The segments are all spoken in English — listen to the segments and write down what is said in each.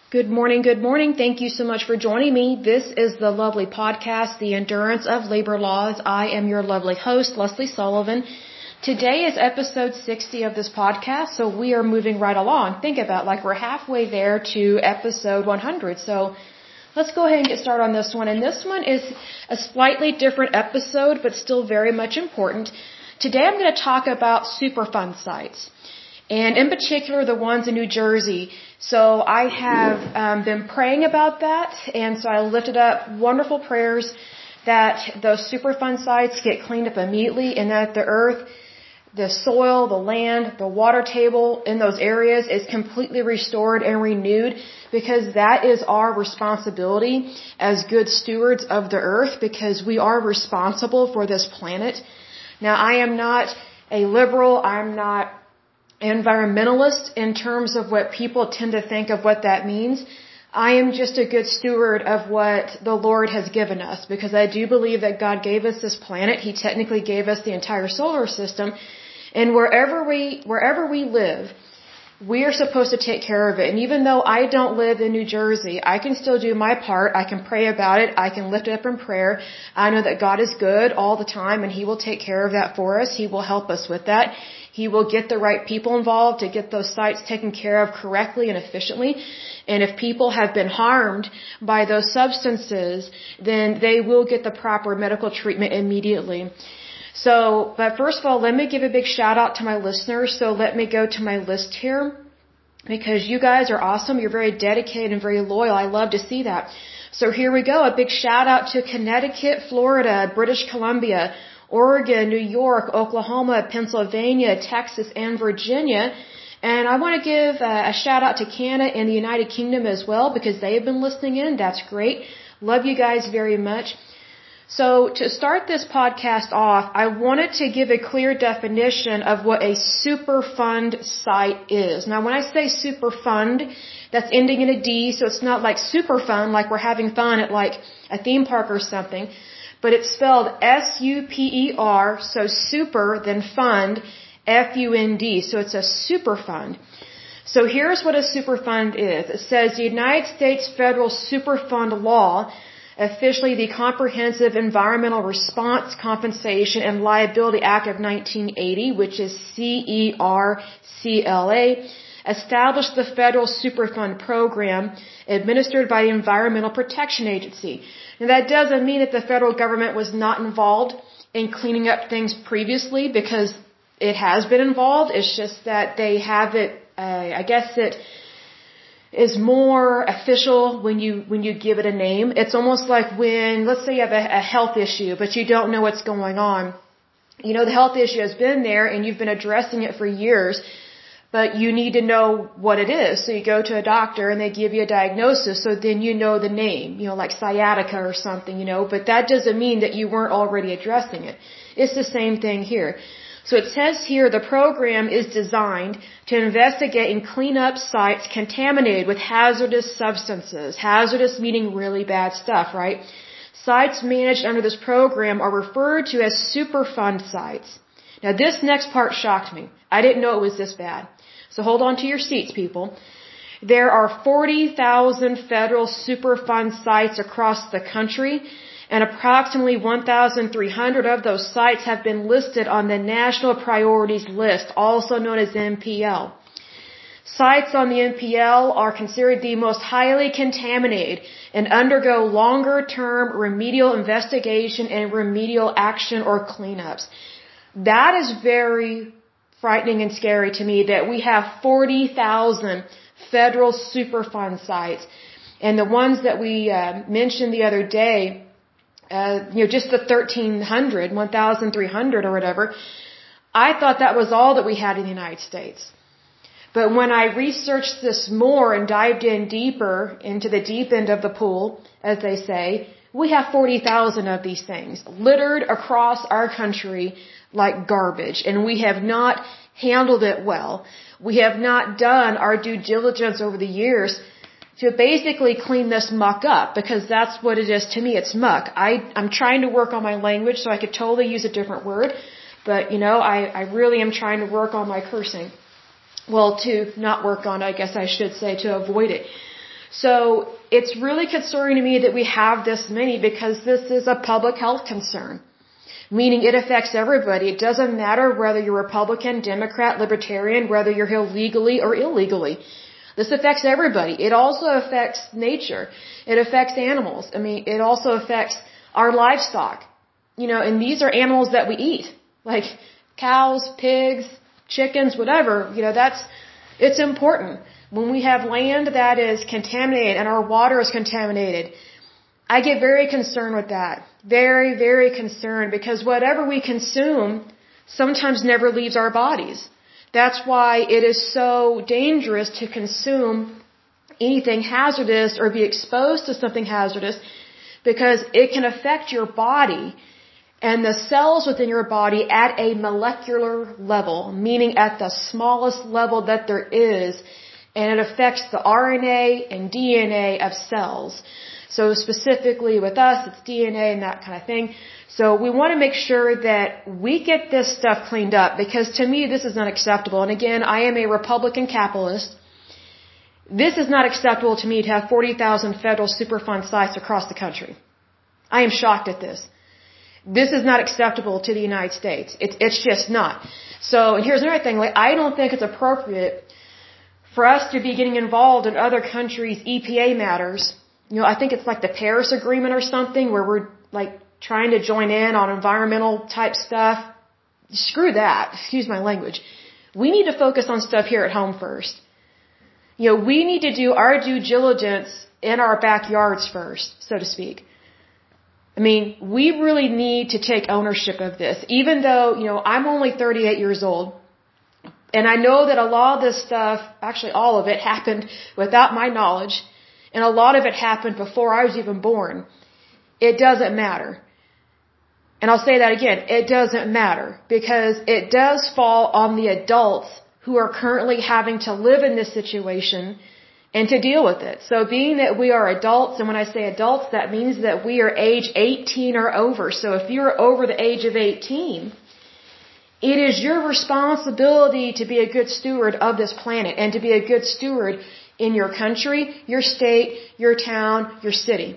Good morning, good morning. Thank you so much for joining me. This is the lovely podcast, The Endurance of Labor Laws. I am your lovely host, Leslie Sullivan. Today is episode 60 of this podcast, so we are moving right along. Think about like we're halfway there to episode 100. So let's go ahead and get started on this one. And this one is a slightly different episode, but still very much important. Today I'm going to talk about Superfund sites, and in particular the ones in New Jersey. So I have been praying about that, and so I lifted up wonderful prayers that those Superfund sites get cleaned up immediately, and that the earth, the soil, the land, the water table in those areas is completely restored and renewed, because that is our responsibility as good stewards of the earth, because we are responsible for this planet. Now, I am not a liberal, I'm not environmentalist in terms of what people tend to think of what that means. I am just a good steward of what the Lord has given us, because I do believe that God gave us this planet. He technically gave us the entire solar system, and wherever we live, we are supposed to take care of it. And even though I don't live in New Jersey, I can still do my part. I can pray about it. I can lift it up in prayer. I know that God is good all the time, and He will take care of that for us. He will help us with that. He will get the right people involved to get those sites taken care of correctly and efficiently. And if people have been harmed by those substances, then they will get the proper medical treatment immediately. So, but first of all, let me give a big shout out to my listeners. So let me go to my list here, because you guys are awesome. You're very dedicated and very loyal. I love to see that. So here we go. A big shout out to Connecticut, Florida, British Columbia, Oregon, New York, Oklahoma, Pennsylvania, Texas, and Virginia. And I want to give a shout out to Canada and the United Kingdom as well, because they have been listening in. That's great. Love you guys very much. So to start this podcast off, I wanted to give a clear definition of what a Superfund site is. Now, when I say Superfund, that's ending in a D, so it's not like super fun, like we're having fun at like a theme park or something, but it's spelled S-U-P-E-R, so super, then fund, F-U-N-D, so it's a Superfund. So here's what a Superfund is. It says the United States Federal Superfund Law, officially the Comprehensive Environmental Response, Compensation, and Liability Act of 1980, which is CERCLA, established the Federal Superfund Program administered by the Environmental Protection Agency. Now, that doesn't mean that the federal government was not involved in cleaning up things previously, because it has been involved. It's just that they have it, I guess it is more official when you give it a name. It's almost like when, let's say you have a health issue, but you don't know what's going on. You know, the health issue has been there and you've been addressing it for years, but you need to know what it is. So you go to a doctor and they give you a diagnosis, so then you know the name, like sciatica or something, but that doesn't mean that you weren't already addressing it. It's the same thing here. So it says here the program is designed to investigate and clean up sites contaminated with hazardous substances. Hazardous meaning really bad stuff, right? Sites managed under this program are referred to as Superfund sites. Now this next part shocked me. I didn't know it was this bad. So hold on to your seats, people. There are 40,000 federal Superfund sites across the country, and approximately 1,300 of those sites have been listed on the National Priorities List, also known as NPL. Sites on the NPL are considered the most highly contaminated and undergo longer-term remedial investigation and remedial action or cleanups. That is very frightening and scary to me, that we have 40,000 federal Superfund sites. And the ones that we mentioned the other day, just the 1,300 or whatever, I thought that was all that we had in the United States. But when I researched this more and dived in deeper into the deep end of the pool, as they say, we have 40,000 of these things littered across our country like garbage, and we have not handled it well. We have not done our due diligence over the years to basically clean this muck up, because that's what it is to me. It's muck. I'm trying to work on my language, so I could totally use a different word, but I really am trying to work on my cursing. Well, to not work on, I guess I should say, to avoid it. So it's really concerning to me that we have this many because this is a public health concern. Meaning it affects everybody. It doesn't matter whether you're Republican, Democrat, Libertarian, whether you're here legally or illegally. This affects everybody. It also affects nature. It affects animals. I mean, it also affects our livestock. And these are animals that we eat. Like cows, pigs, chickens, whatever. It's important. When we have land that is contaminated and our water is contaminated, I get very concerned with that. Very, very concerned because whatever we consume sometimes never leaves our bodies. That's why it is so dangerous to consume anything hazardous or be exposed to something hazardous because it can affect your body and the cells within your body at a molecular level, meaning at the smallest level that there is, and it affects the RNA and DNA of cells. So specifically with us, it's DNA and that kind of thing. So we want to make sure that we get this stuff cleaned up because to me this is unacceptable. And again, I am a Republican capitalist. This is not acceptable to me to have 40,000 federal Superfund sites across the country. I am shocked at this. This is not acceptable to the United States. It's just not. So, and here's another thing. I don't think it's appropriate for us to be getting involved in other countries' EPA matters. I think it's like the Paris Agreement or something where we're like trying to join in on environmental type stuff. Screw that. Excuse my language. We need to focus on stuff here at home first. We need to do our due diligence in our backyards first, so to speak. I mean, we really need to take ownership of this, even though, I'm only 38 years old. And I know that a lot of this stuff, actually all of it, happened without my knowledge. And a lot of it happened before I was even born. It doesn't matter. And I'll say that again. It doesn't matter because it does fall on the adults who are currently having to live in this situation and to deal with it. So being that we are adults, and when I say adults, that means that we are age 18 or over. So if you're over the age of 18, it is your responsibility to be a good steward of this planet and to be a good steward in your country, your state, your town, your city.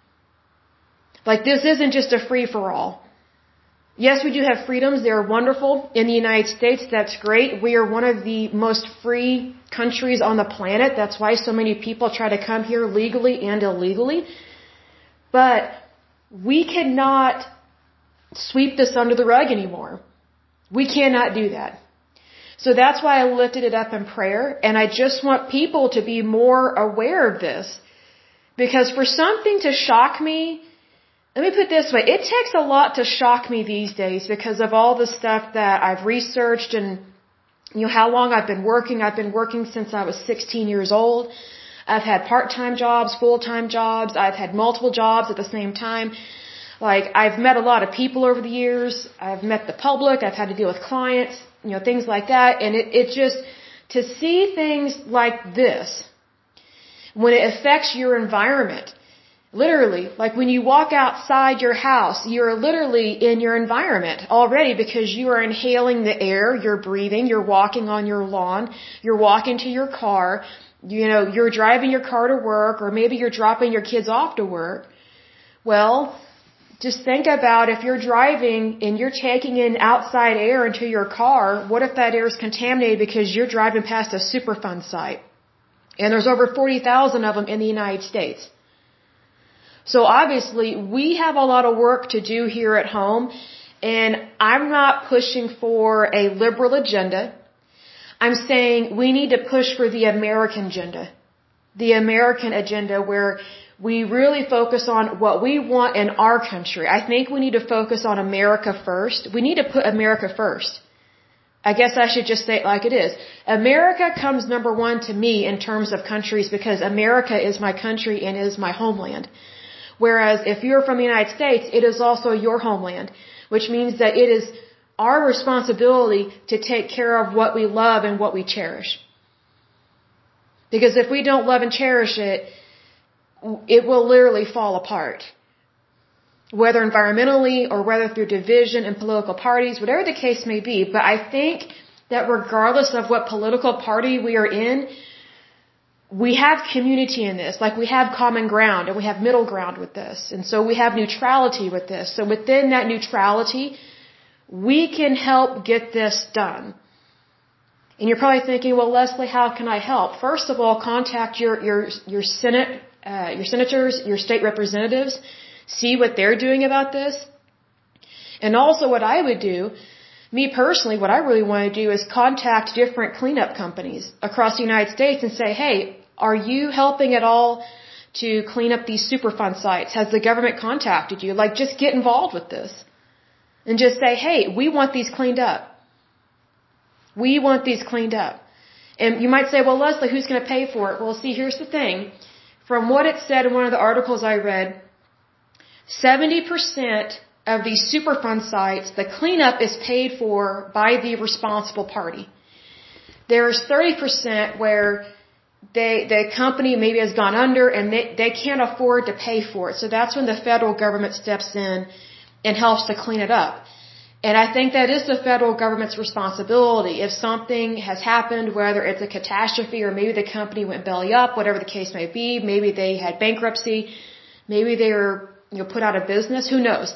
Like this isn't just a free-for-all. Yes, we do have freedoms. They're wonderful. In the United States, that's great. We are one of the most free countries on the planet. That's why so many people try to come here legally and illegally. But we cannot sweep this under the rug anymore. We cannot do that. So that's why I lifted it up in prayer. And I just want people to be more aware of this. Because for something to shock me, let me put it this way, it takes a lot to shock me these days because of all the stuff that I've researched and how long I've been working. I've been working since I was 16 years old. I've had part-time jobs, full-time jobs. I've had multiple jobs at the same time. Like, I've met a lot of people over the years. I've met the public. I've had to deal with clients, things like that. And it just, to see things like this, when it affects your environment, literally, like when you walk outside your house, you're literally in your environment already because you are inhaling the air, you're breathing, you're walking on your lawn, you're walking to your car, you're driving your car to work, or maybe you're dropping your kids off to work. Well, just think about if you're driving and you're taking in outside air into your car, what if that air is contaminated because you're driving past a Superfund site? And there's over 40,000 of them in the United States. So obviously, we have a lot of work to do here at home, and I'm not pushing for a liberal agenda. I'm saying we need to push for the American agenda. The American agenda where we really focus on what we want in our country. I think we need to focus on America first. We need to put America first. I guess I should just say it like it is. America comes number one to me in terms of countries because America is my country and is my homeland. Whereas if you're from the United States, it is also your homeland, which means that it is our responsibility to take care of what we love and what we cherish. Because if we don't love and cherish it, it will literally fall apart. Whether environmentally or whether through division in political parties, whatever the case may be. But I think that regardless of what political party we are in, we have community in this, like we have common ground and we have middle ground with this. And so we have neutrality with this. So within that neutrality, we can help get this done. And you're probably thinking, well, Leslie, how can I help? First of all, contact your Senate, your senators, your state representatives, see what they're doing about this. And also what I would do, me personally, what I really want to do is contact different cleanup companies across the United States and say, hey, are you helping at all to clean up these Superfund sites? Has the government contacted you? Like, just get involved with this. And just say, hey, we want these cleaned up. We want these cleaned up. And you might say, well, Leslie, who's going to pay for it? Well, see, here's the thing. From what it said in one of the articles I read, 70% of these Superfund sites, the cleanup is paid for by the responsible party. There's 30% where the company maybe has gone under and they can't afford to pay for it. So that's when the federal government steps in and helps to clean it up. And I think that is the federal government's responsibility. If something has happened, whether it's a catastrophe or maybe the company went belly up, whatever the case may be, maybe they had bankruptcy, maybe they were put out of business, who knows?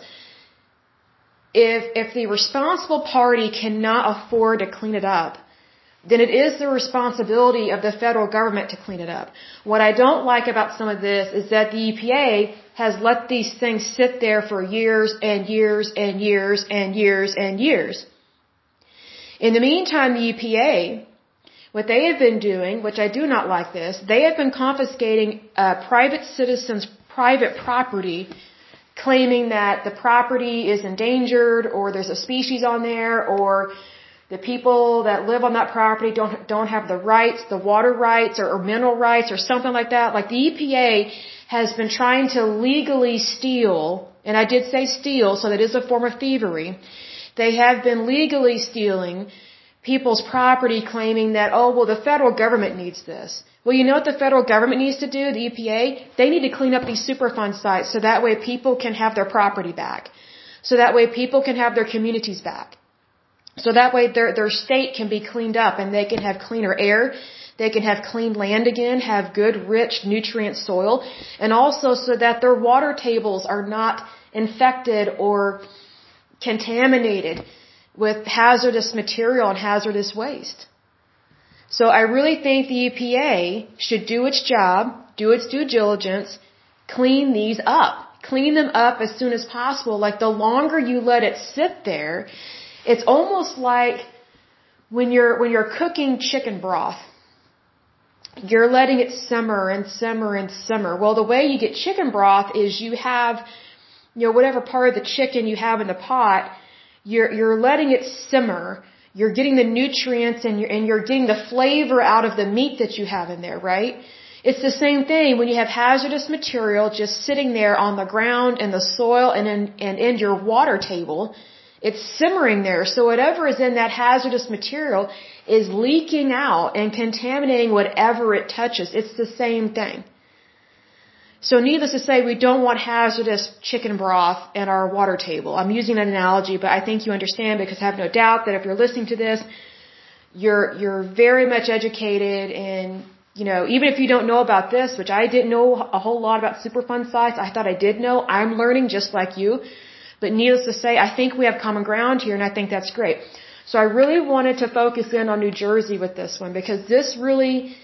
If the responsible party cannot afford to clean it up, then it is the responsibility of the federal government to clean it up. What I don't like about some of this is that the EPA has let these things sit there for years and years and years and years and years. In the meantime, the EPA, what they have been doing, which I do not like this, they have been confiscating private citizens' private property, claiming that the property is endangered or there's a species on there or the people that live on that property don't have the rights, the water rights or mineral rights or something like that. Like the EPA has been trying to legally steal, and I did say steal, so that is a form of thievery. They have been legally stealing people's property, claiming that, oh, well, the federal government needs this. Well, you know what the federal government needs to do, the EPA? They need to clean up these Superfund sites so that way people can have their property back. So that way people can have their communities back. So that way their state can be cleaned up and they can have cleaner air, they can have clean land again, have good, rich, nutrient soil, and also so that their water tables are not infected or contaminated with hazardous material and hazardous waste. So I really think the EPA should do its job, do its due diligence, clean these up. Clean them up as soon as possible. Like the longer you let it sit there, it's almost like when you're cooking chicken broth. You're letting it simmer and simmer and simmer. Well, the way you get chicken broth is you have, whatever part of the chicken you have in the pot, you're letting it simmer. You're getting the nutrients and you're getting the flavor out of the meat that you have in there, right? It's the same thing when you have hazardous material just sitting there on the ground and the soil and in your water table. It's simmering there. So whatever is in that hazardous material is leaking out and contaminating whatever it touches. It's the same thing. So needless to say, we don't want hazardous chicken broth in our water table. I'm using an analogy, but I think you understand because I have no doubt that if you're listening to this, you're very much educated and, even if you don't know about this, which I didn't know a whole lot about Superfund sites, I thought I did know. I'm learning just like you. But needless to say, I think we have common ground here, and I think that's great. So I really wanted to focus in on New Jersey with this one because this really,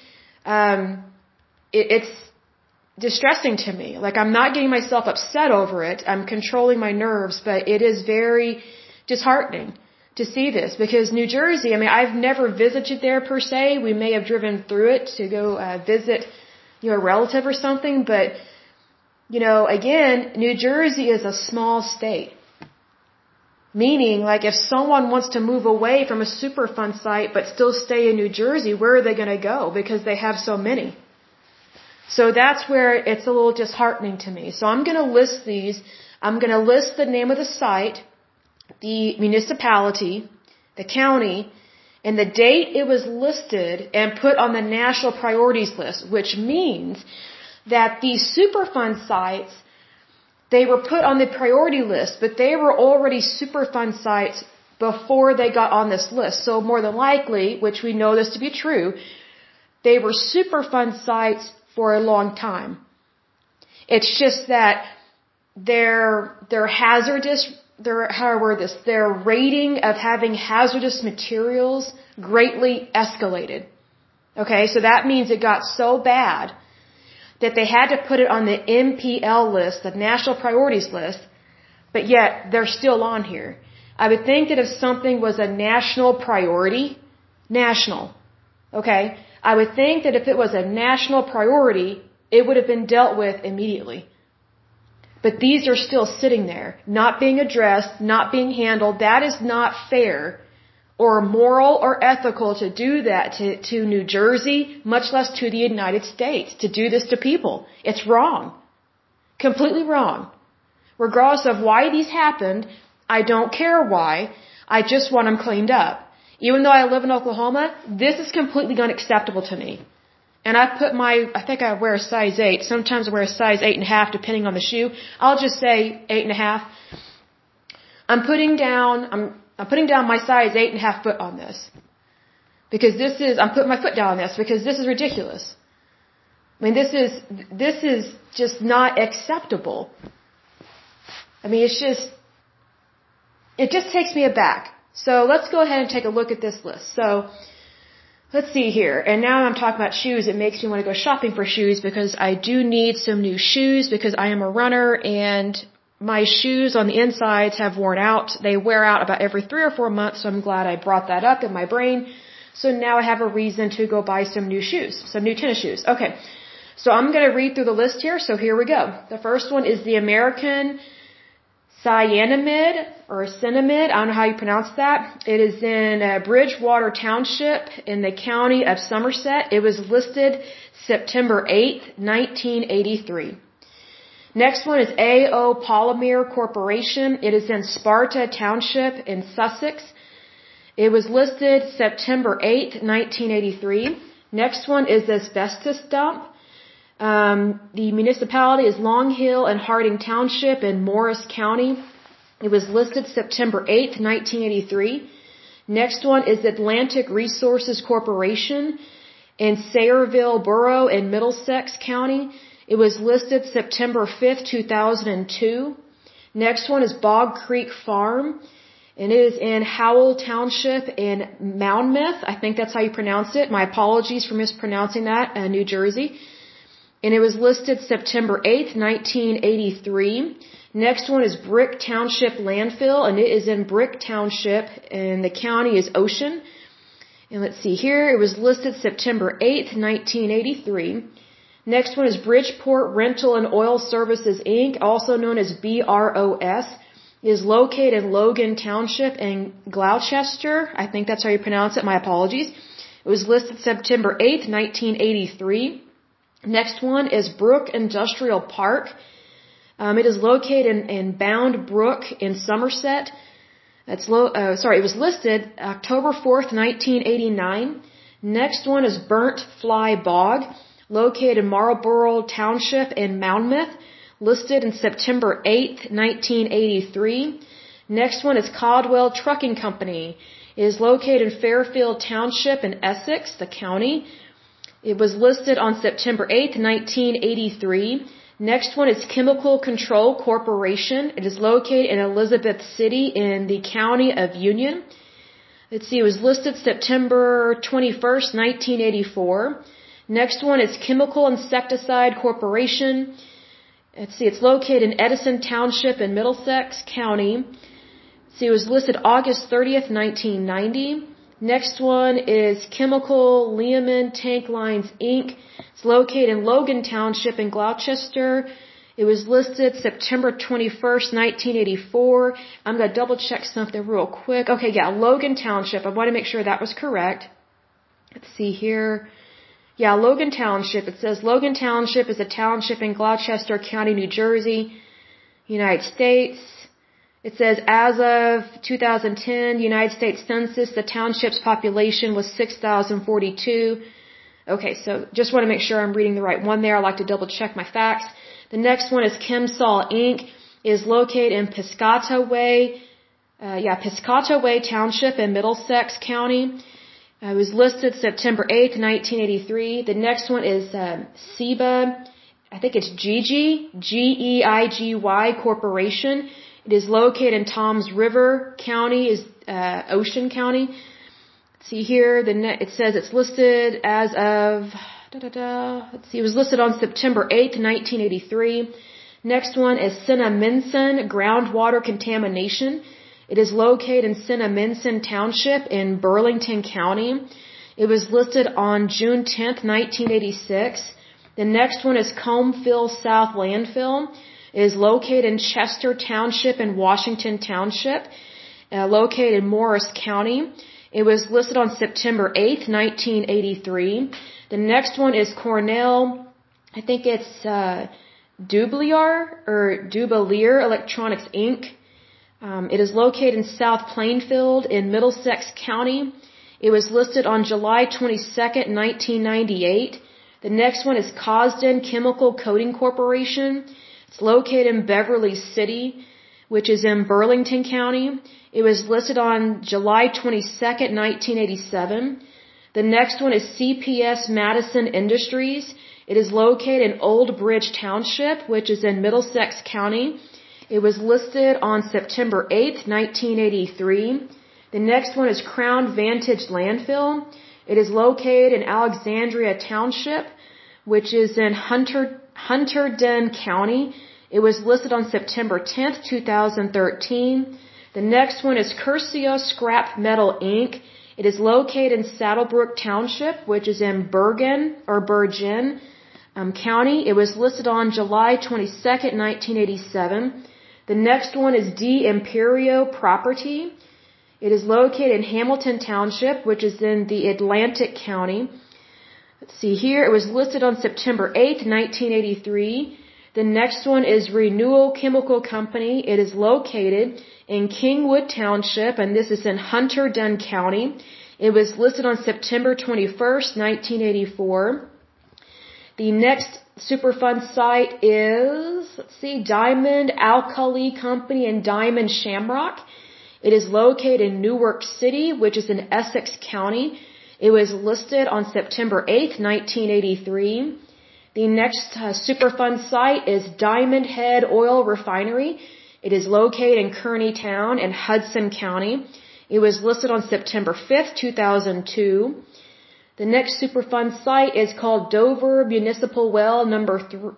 it's distressing to me. Like, I'm not getting myself upset over it. I'm controlling my nerves, but it is very disheartening to see this because New Jersey, I've never visited there per se. We may have driven through it to go visit, a relative or something, but again, New Jersey is a small state. Meaning, like, if someone wants to move away from a Superfund site but still stay in New Jersey, where are they going to go? Because they have so many. So that's where it's a little disheartening to me. So I'm going to list these. I'm going to list the name of the site, the municipality, the county, and the date it was listed and put on the national priorities list, which means that these Superfund sites, they were put on the priority list, but they were already Superfund sites before they got on this list. So more than likely, which we know this to be true, They were Superfund sites for a long time. It's just that their hazardous, their rating of having hazardous materials greatly escalated. Okay, so that means it got so bad that they had to put it on the NPL list, the National Priorities list, but yet they're still on here. I would think that if something was a national priority, okay, I would think that if it was a national priority, it would have been dealt with immediately. But these are still sitting there, not being addressed, not being handled. That is not fair or moral or ethical to do that to New Jersey, much less to the United States, to do this to people. It's wrong. Completely wrong. Regardless of why these happened, I don't care why. I just want them cleaned up. Even though I live in Oklahoma, this is completely unacceptable to me. And I think I wear a size 8. Sometimes I wear a size 8.5 depending on the shoe. I'll just say 8.5. I'm putting down my size 8.5 foot on this. Because I'm putting my foot down on this because this is ridiculous. I mean, this is just not acceptable. I mean, it just takes me aback. So let's go ahead and take a look at this list. So, let's see here. And now I'm talking about shoes. It makes me want to go shopping for shoes because I do need some new shoes because I am a runner and my shoes on the insides have worn out. They wear out about every 3 or 4 months, so I'm glad I brought that up in my brain. So now I have a reason to go buy some new shoes, some new tennis shoes. Okay, so I'm going to read through the list here, so here we go. The first one is the American Cyanamid, or Cinnamid, I don't know how you pronounce that. It is in Bridgewater Township in the county of Somerset. It was listed September 8th, 1983. Next one is AO Polymer Corporation. It is in Sparta Township in Sussex. It was listed September 8th, 1983. Next one is Asbestos Dump. The municipality is Long Hill and Harding Township in Morris County. It was listed September 8th, 1983. Next one is Atlantic Resources Corporation in Sayreville Borough in Middlesex County. It was listed September 5th, 2002. Next one is Bog Creek Farm, and it is in Howell Township in Monmouth. I think that's how you pronounce it. My apologies for mispronouncing that, New Jersey. And it was listed September 8th, 1983. Next one is Brick Township Landfill, and it is in Brick Township, and the county is Ocean. And let's see here, it was listed September 8th, 1983. Next one is Bridgeport Rental and Oil Services, Inc., also known as BROS. It is located in Logan Township in Gloucester. I think that's how you pronounce it. My apologies. It was listed September 8th, 1983. Next one is Brook Industrial Park. It is located in Bound Brook in Somerset. It was listed October 4th, 1989. Next one is Burnt Fly Bog, located in Marlborough Township in Monmouth, listed in September 8th, 1983. Next one is Caldwell Trucking Company. It is located in Fairfield Township in Essex, the county. It was listed on September 8th, 1983. Next one is Chemical Control Corporation. It is located in Elizabeth City in the county of Union. Let's see, it was listed September 21st, 1984. Next one is Chemical Insecticide Corporation. Let's see, it's located in Edison Township in Middlesex County. See, it was listed August 30th, 1990. Next one is Chemical Lehman Tank Lines, Inc. It's located in Logan Township in Gloucester. It was listed September 21st, 1984. I'm going to double check something real quick. Okay, yeah, Logan Township. I want to make sure that was correct. Let's see here. Yeah, Logan Township. It says Logan Township is a township in Gloucester County, New Jersey, United States. It says as of 2010, United States Census, the township's population was 6,042. Okay, so just want to make sure I'm reading the right one there. I like to double check my facts. The next one is Chemsol Inc. It is located in Piscataway Township in Middlesex County. It was listed September 8th, 1983. The next one is Ciba, I think it's Geigy Corporation. It is located in Toms River County, is Ocean County. See here, it says it's listed as of, let's see, it was listed on September 8th, 1983. Next one is Cinnaminson Groundwater Contamination. It is located in Cinnaminson Township in Burlington County. It was listed on June 10th, 1986. The next one is Comeville South Landfill. It is located in Chester Township in Washington Township, located in Morris County. It was listed on September 8th, 1983. The next one is Cornell, I think it's Dubalier Electronics Inc. It is located in South Plainfield in Middlesex County. It was listed on July 22nd, 1998. The next one is Cosden Chemical Coating Corporation. It's located in Beverly City, which is in Burlington County. It was listed on July 22nd, 1987. The next one is CPS Madison Industries. It is located in Old Bridge Township, which is in Middlesex County. It was listed on September 8th, 1983. The next one is Crown Vantage Landfill. It is located in Alexandria Township, which is in Hunterdon County. It was listed on September 10th, 2013. The next one is Curcio Scrap Metal Inc. It is located in Saddlebrook Township, which is in Bergen County. It was listed on July 22nd, 1987. The next one is D. Imperio Property. It is located in Hamilton Township, which is in the Atlantic County. Let's see here. It was listed on September 8th, 1983. The next one is Renewal Chemical Company. It is located in Kingwood Township, and this is in Hunterdon County. It was listed on September 21st, 1984. The next Superfund site is, Diamond Alkali Company and Diamond Shamrock. It is located in Newark City, which is in Essex County. It was listed on September 8th, 1983. The next Superfund site is Diamond Head Oil Refinery. It is located in Kearney Town in Hudson County. It was listed on September 5th, 2002. The next Superfund site is called Dover Municipal Well number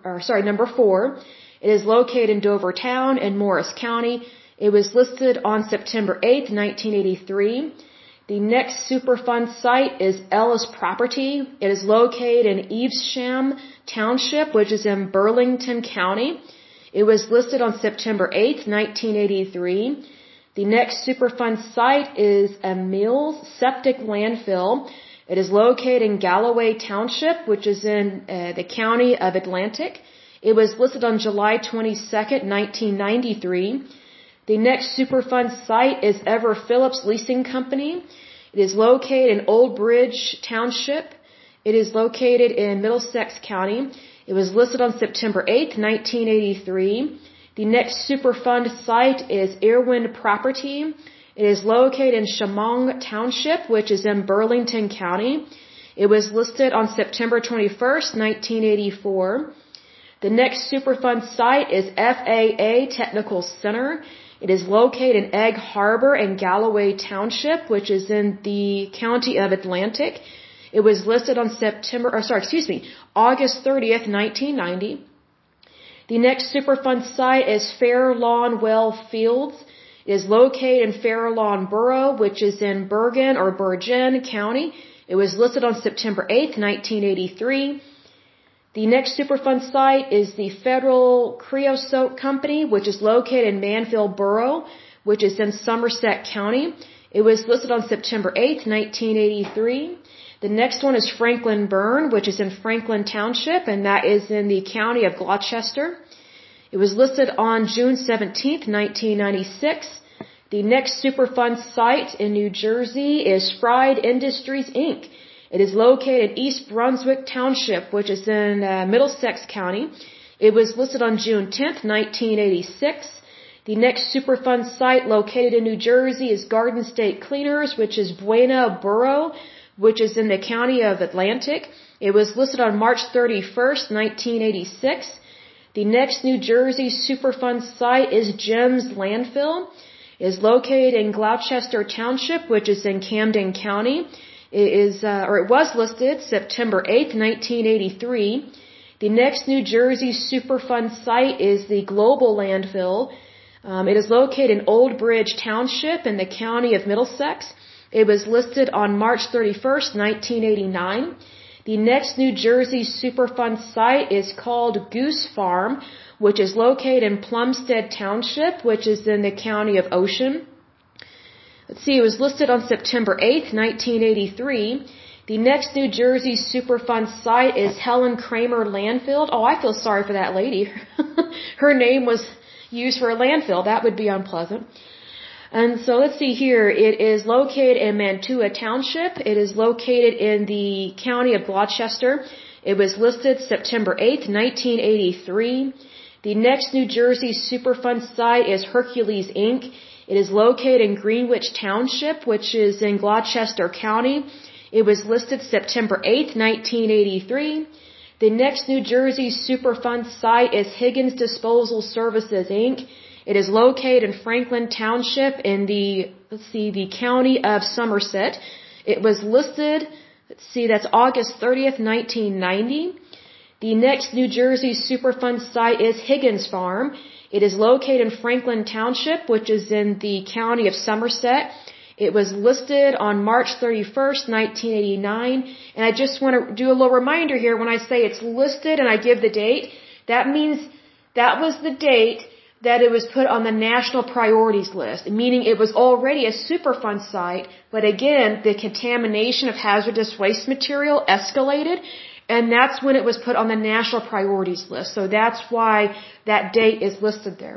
4. It is located in Dover Town in Morris County. It was listed on September 8th, 1983. The next Superfund site is Ellis Property. It is located in Evesham Township, which is in Burlington County. It was listed on September 8th, 1983. The next Superfund site is a Mills Septic Landfill. It is located in Galloway Township, which is in the county of Atlantic. It was listed on July 22nd, 1993. The next Superfund site is Ever Phillips Leasing Company. It is located in Old Bridge Township. It is located in Middlesex County. It was listed on September 8th, 1983. The next Superfund site is Irwin Property. It is located in Shamong Township, which is in Burlington County. It was listed on September 21st, 1984. The next Superfund site is FAA Technical Center. It is located in Egg Harbor and Galloway Township, which is in the county of Atlantic. It was listed on August 30th, 1990. The next Superfund site is Fair Lawn Well Fields. It is located in Fair Lawn Borough, which is in Bergen County. It was listed on September 8th, 1983. The next Superfund site is the Federal Creosote Company, which is located in Manville Borough, which is in Somerset County. It was listed on September 8th, 1983. The next one is Franklin Burn, which is in Franklin Township, and that is in the county of Gloucester. It was listed on June 17th, 1996. The next Superfund site in New Jersey is Fried Industries, Inc. It is located in East Brunswick Township, which is in Middlesex County. It was listed on June 10th, 1986. The next Superfund site located in New Jersey is Garden State Cleaners, which is Buena Borough, which is in the county of Atlantic. It was listed on March 31st, 1986. The next New Jersey Superfund site is Gems Landfill. It is located in Gloucester Township, which is in Camden County. It was listed September 8th, 1983. The next New Jersey Superfund site is the Global Landfill. It is located in Old Bridge Township in the county of Middlesex. It was listed on March 31st, 1989. The next New Jersey Superfund site is called Goose Farm, which is located in Plumstead Township, which is in the county of Ocean. It was listed on September 8th, 1983. The next New Jersey Superfund site is Helen Kramer Landfill. Oh, I feel sorry for that lady. Her name was used for a landfill. That would be unpleasant. And so let's see here. It is located in Mantua Township. It is located in the county of Gloucester. It was listed September 8th, 1983. The next New Jersey Superfund site is Hercules Inc. It is located in Greenwich Township, which is in Gloucester County. It was listed September 8th, 1983. The next New Jersey Superfund site is Higgins Disposal Services Inc. It is located in Franklin Township in the county of Somerset. It was listed, that's August 30th, 1990. The next New Jersey Superfund site is Higgins Farm. It is located in Franklin Township, which is in the county of Somerset. It was listed on March 31st, 1989. And I just want to do a little reminder here. When I say it's listed and I give the date, that means that was the date that it was put on the national priorities list, meaning it was already a Superfund site, but again, the contamination of hazardous waste material escalated, and that's when it was put on the national priorities list. So that's why that date is listed there.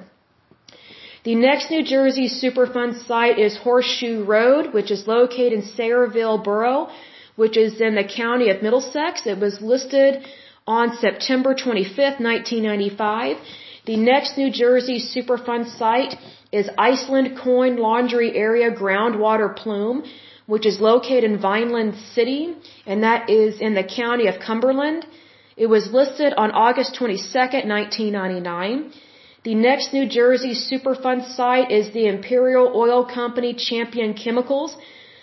The next New Jersey Superfund site is Horseshoe Road, which is located in Sayreville Borough, which is in the county of Middlesex. It was listed on September 25th, 1995. The next New Jersey Superfund site is Iceland Coin Laundry Area Groundwater Plume, which is located in Vineland City, and that is in the county of Cumberland. It was listed on August 22nd, 1999. The next New Jersey Superfund site is the Imperial Oil Company Champion Chemicals.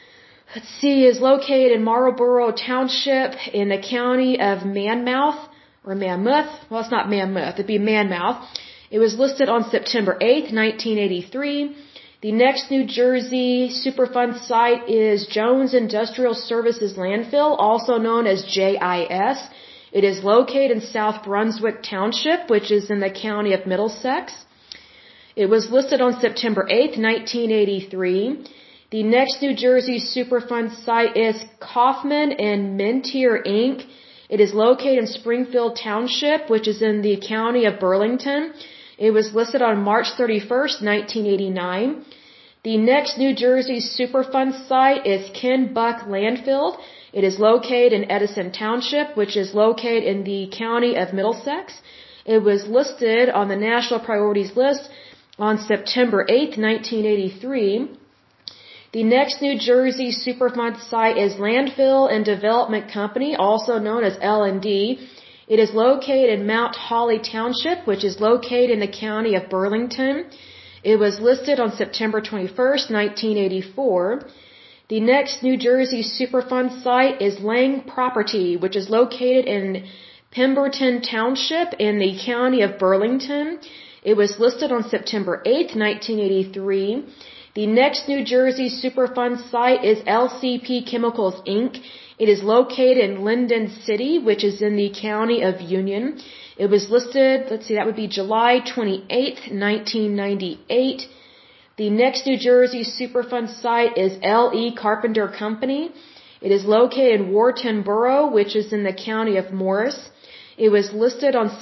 Is located in Marlborough Township in the county of Monmouth. Or Monmouth. Well, it's not Monmouth. It'd be Monmouth. It was listed on September 8th, 1983. The next New Jersey Superfund site is Jones Industrial Services Landfill, also known as JIS. It is located in South Brunswick Township, which is in the county of Middlesex. It was listed on September 8th, 1983. The next New Jersey Superfund site is Kaufman and Mentier Inc. It is located in Springfield Township, which is in the county of Burlington. It was listed on March 31st, 1989. The next New Jersey Superfund site is Ken Buck Landfill. It is located in Edison Township, which is located in the county of Middlesex. It was listed on the National Priorities List on September 8th, 1983. The next New Jersey Superfund site is Landfill and Development Company, also known as L&D. It is located in Mount Holly Township, which is located in the county of Burlington. It was listed on September 21st, 1984. The next New Jersey Superfund site is Lang Property, which is located in Pemberton Township in the county of Burlington. It was listed on September 8th, 1983. The next New Jersey Superfund site is LCP Chemicals Inc. It is located in Linden City, which is in the county of Union. It was listed, that would be July 28th, 1998. The next New Jersey Superfund site is L.E. Carpenter Company. It is located in Wharton Borough, which is in the county of Morris. It was listed on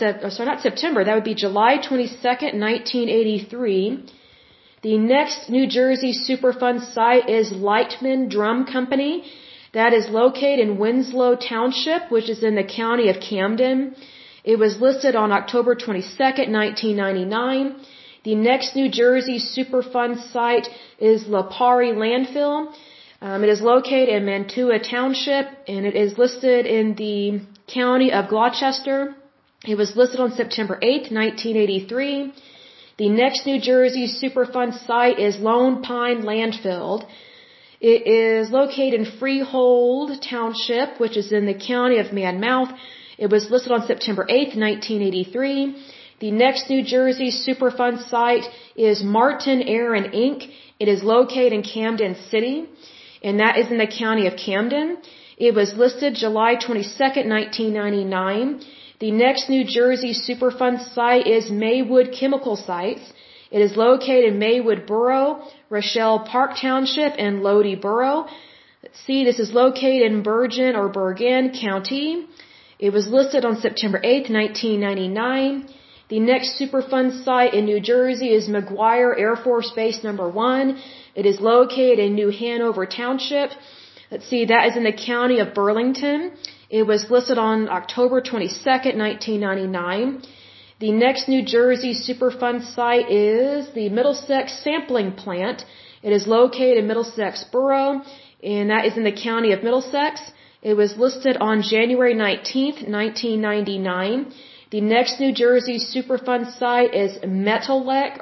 July 22nd, 1983. The next New Jersey Superfund site is Lightman Drum Company. That is located in Winslow Township, which is in the county of Camden. It was listed on October 22nd, 1999. The next New Jersey Superfund site is Lapari Landfill. It is located in Mantua Township, and it is listed in the county of Gloucester. It was listed on September 8th, 1983. The next New Jersey Superfund site is Lone Pine Landfill. It is located in Freehold Township, which is in the county of Monmouth. It was listed on September 8th, 1983. The next New Jersey Superfund site is Martin Aaron Inc. It is located in Camden City, and that is in the county of Camden. It was listed July 22nd, 1999. The next New Jersey Superfund site is Maywood Chemical Sites. It is located in Maywood Borough, Rochelle Park Township, and Lodi Borough. Let's see, this is located in Bergen County. It was listed on September 8th, 1999. The next Superfund site in New Jersey is McGuire Air Force Base No. 1. It is located in New Hanover Township. Let's see, that is in the county of Burlington. It was listed on October 22nd, 1999. The next New Jersey Superfund site is the Middlesex Sampling Plant. It is located in Middlesex Borough, and that is in the county of Middlesex. It was listed on January 19th, 1999. The next New Jersey Superfund site is Metaltech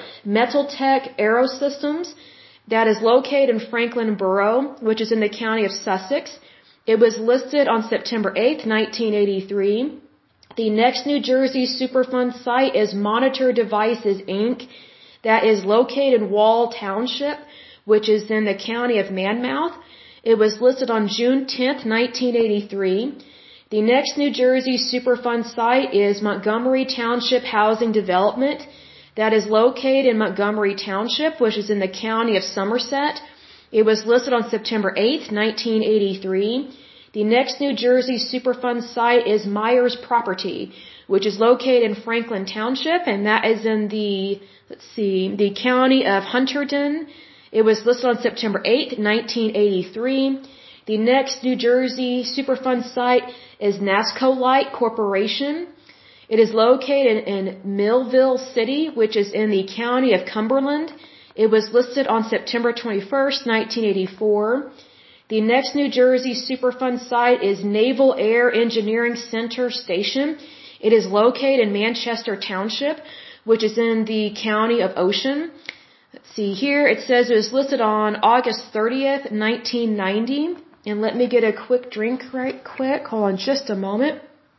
Aerosystems. That is located in Franklin Borough, which is in the county of Sussex. It was listed on September 8th, 1983. The next New Jersey Superfund site is Monitor Devices, Inc. That is located in Wall Township, which is in the county of Monmouth. It was listed on June 10th, 1983. The next New Jersey Superfund site is Montgomery Township Housing Development. That is located in Montgomery Township, which is in the county of Somerset. It was listed on September 8th, 1983. The next New Jersey Superfund site is Myers Property, which is located in Franklin Township, and that is in the county of Hunterdon. It was listed on September 8th, 1983. The next New Jersey Superfund site is NASCO Light Corporation. It is located in Millville City, which is in the county of Cumberland. It was listed on September 21st, 1984. The next New Jersey Superfund site is Naval Air Engineering Center Station. It is located in Manchester Township, which is in the county of Ocean. Let's see here. It says it was listed on August 30th, 1990. And let me get a quick drink right quick. Hold on just a moment.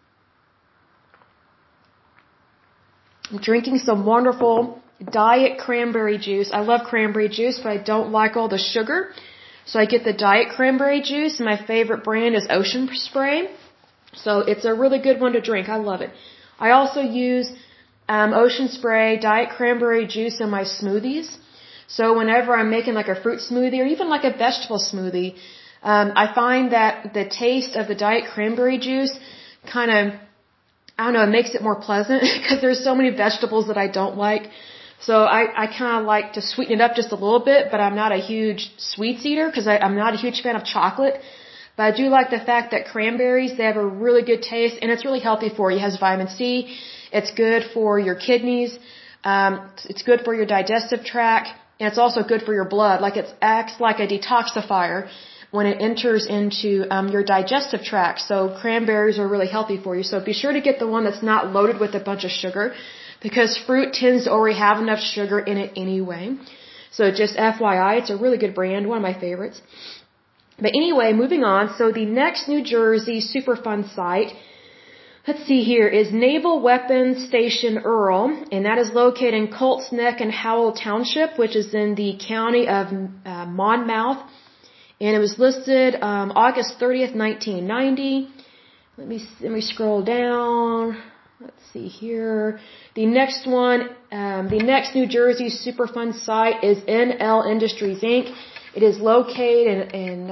I'm drinking some wonderful diet cranberry juice. I love cranberry juice, but I don't like all the sugar. So I get the diet cranberry juice, and my favorite brand is Ocean Spray. So it's a really good one to drink. I love it. I also use Ocean Spray diet cranberry juice in my smoothies. So whenever I'm making like a fruit smoothie or even like a vegetable smoothie, I find that the taste of the diet cranberry juice kind of, I don't know, it makes it more pleasant because there's so many vegetables that I don't like. So I kind of like to sweeten it up just a little bit, but I'm not a huge sweets eater because I'm not a huge fan of chocolate. But I do like the fact that cranberries, they have a really good taste, and it's really healthy for you. It has vitamin C. It's good for your kidneys. It's good for your digestive tract, and it's also good for your blood. Like it acts like a detoxifier when it enters into your digestive tract. So cranberries are really healthy for you. So be sure to get the one that's not loaded with a bunch of sugar, because fruit tends to already have enough sugar in it anyway. So just FYI, it's a really good brand, one of my favorites. But anyway, moving on. So the next New Jersey Superfund site, let's see here, is Naval Weapons Station Earl, and that is located in Colts Neck and Howell Township, which is in the county of Monmouth. And it was listed August 30th, 1990. Let me scroll down. Let's see here. The next one, the next New Jersey Superfund site is NL Industries, Inc. It is located in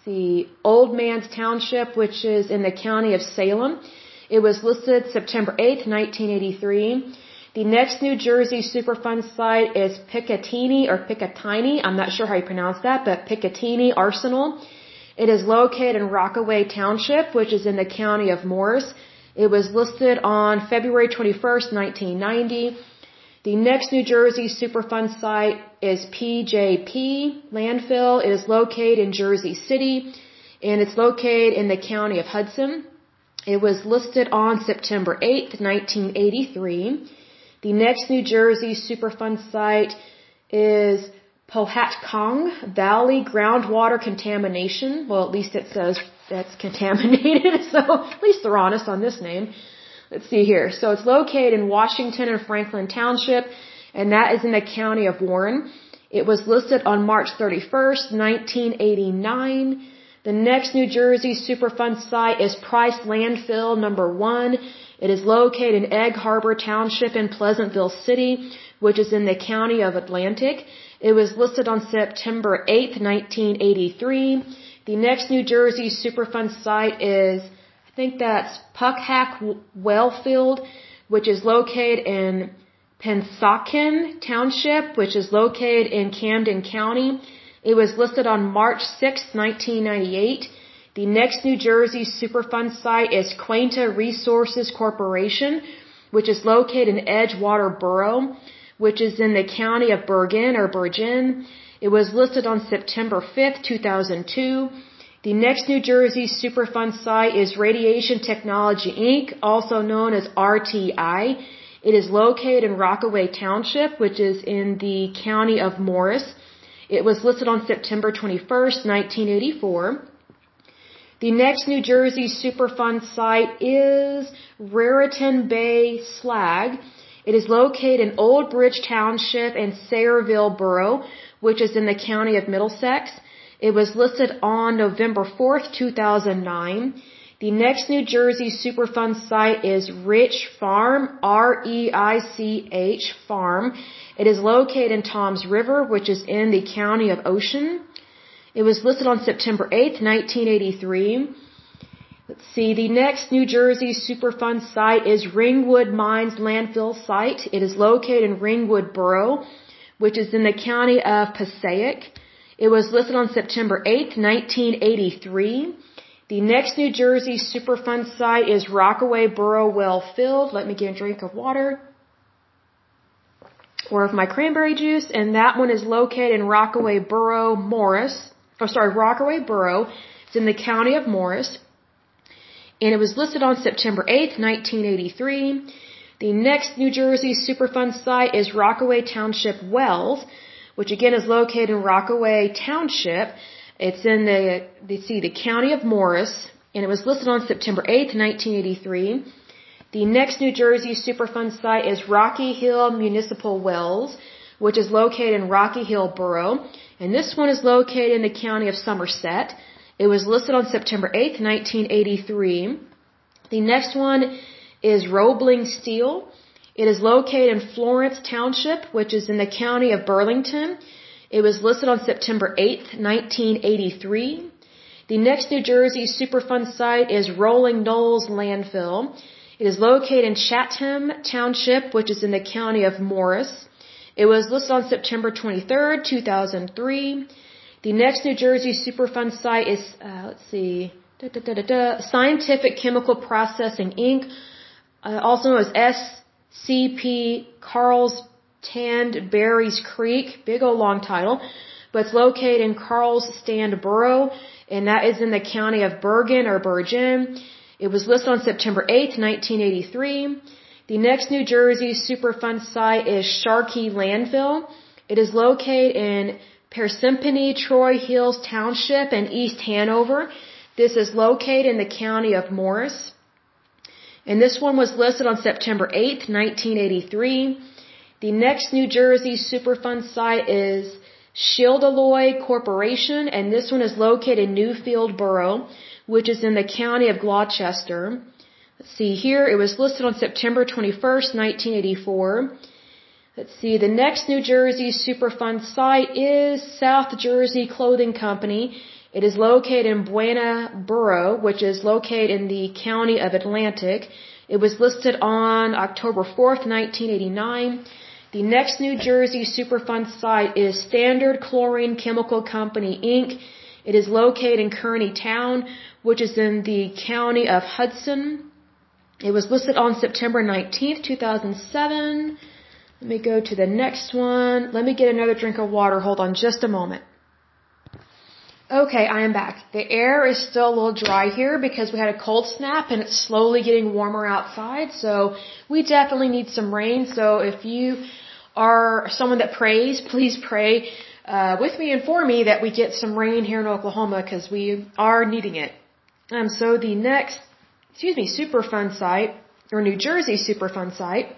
Old Man's Township, which is in the county of Salem. It was listed September 8th, 1983. The next New Jersey Superfund site is Picatinny. I'm not sure how you pronounce that, but Picatinny Arsenal. It is located in Rockaway Township, which is in the county of Morris. It was listed on February 21st, 1990. The next New Jersey Superfund site is PJP Landfill. It is located in Jersey City, and it's located in the county of Hudson. It was listed on September 8th, 1983. The next New Jersey Superfund site is Pohatcong Valley Groundwater Contamination. Well, at least it says that's contaminated, so at least they're honest on this name. Let's see here. So it's located in Washington and Franklin Township, and that is in the county of Warren. It was listed on March 31st, 1989. The next New Jersey Superfund site is Price Landfill number 1. It is located in Egg Harbor Township in Pleasantville City, which is in the county of Atlantic. It was listed on September 8th, 1983. The next New Jersey Superfund site is, I think that's Puckhack Wellfield, which is located in Pennsauken Township, which is located in Camden County. It was listed on March 6th, 1998. The next New Jersey Superfund site is Quanta Resources Corporation, which is located in Edgewater Borough, which is in the county of Bergen or Bergen. It was listed on September 5th, 2002. The next New Jersey Superfund site is Radiation Technology Inc., also known as RTI. It is located in Rockaway Township, which is in the county of Morris. It was listed on September 21st, 1984. The next New Jersey Superfund site is Raritan Bay Slag. It is located in Old Bridge Township and Sayreville Borough, which is in the county of Middlesex. It was listed on November 4th, 2009. The next New Jersey Superfund site is Rich Farm, R-E-I-C-H Farm. It is located in Toms River, which is in the county of Ocean. It was listed on September 8th, 1983. Let's see, the next New Jersey Superfund site is Ringwood Mines Landfill Site. It is located in Ringwood Borough, which is in the county of Passaic. It was listed on September 8th, 1983. The next New Jersey Superfund site is Rockaway Borough Wellfield. Let me get a drink of water or of my cranberry juice, and that one is located in Rockaway Borough, Rockaway Borough. It's in the county of Morris. And it was listed on September 8th, 1983. The next New Jersey Superfund site is Rockaway Township Wells, which again is located in Rockaway Township. It's in the county of Morris, and it was listed on September 8th, 1983. The next New Jersey Superfund site is Rocky Hill Municipal Wells, which is located in Rocky Hill Borough, and this one is located in the county of Somerset. It was listed on September 8th, 1983. The next one is Roebling Steel. It is located in Florence Township, which is in the county of Burlington. It was listed on September 8th, 1983. The next New Jersey Superfund site is Rolling Knolls Landfill. It is located in Chatham Township, which is in the county of Morris. It was listed on September 23rd, 2003. The next New Jersey Superfund site is, Scientific Chemical Processing Inc., also known as SCP Carlstand Berries Creek, big old long title, but it's located in Carlstand Borough, and that is in the county of Bergen or Bergen. It was listed on September 8th, 1983. The next New Jersey Superfund site is Sharkey Landfill. It is located in Parsippany Troy Hills Township in East Hanover. This is located in the county of Morris. And this one was listed on September 8th, 1983. The next New Jersey Superfund site is Schildaloy Corporation, and this one is located in Newfield Borough, which is in the county of Gloucester. Let's see here, it was listed on September 21st, 1984. Let's see, the next New Jersey Superfund site is South Jersey Clothing Company. It is located in Buena Borough, which is located in the county of Atlantic. It was listed on October 4th, 1989. The next New Jersey Superfund site is Standard Chlorine Chemical Company, Inc. It is located in Kearney Town, which is in the county of Hudson. It was listed on September 19th, 2007. Let me go to the next one. Let me get another drink of water. Hold on just a moment. Okay, I am back. The air is still a little dry here because we had a cold snap and it's slowly getting warmer outside. So we definitely need some rain. So if you are someone that prays, please pray with me and for me that we get some rain here in Oklahoma because we are needing it. So the next, Superfund site, or New Jersey Superfund site,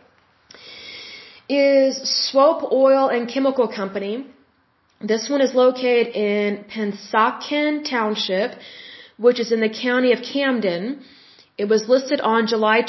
is Swope Oil and Chemical Company. This one is located in Pennsauken Township, which is in the county of Camden. It was listed on July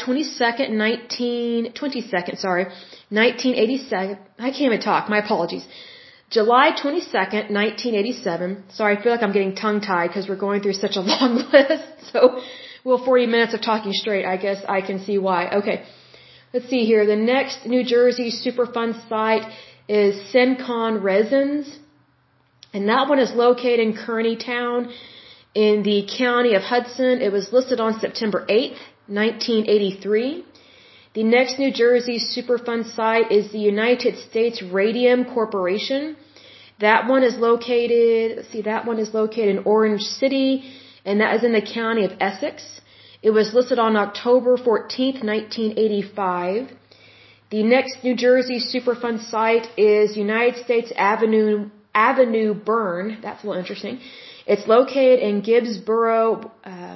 1987. I can't even talk. My apologies. July 22nd, 1987. Sorry, I feel like I'm getting tongue-tied because we're going through such a long list. So, 40 minutes of talking straight, I guess I can see why. Okay. Let's see here. The next New Jersey Superfund site is Syncon Resins. And that one is located in Kearney Town in the county of Hudson. It was listed on September 8th, 1983. The next New Jersey Superfund site is the United States Radium Corporation. That one is located in Orange City, and that is in the county of Essex. It was listed on October 14th, 1985. The next New Jersey Superfund site is United States Avenue Burn. That's a little interesting. It's located in Gibbsboro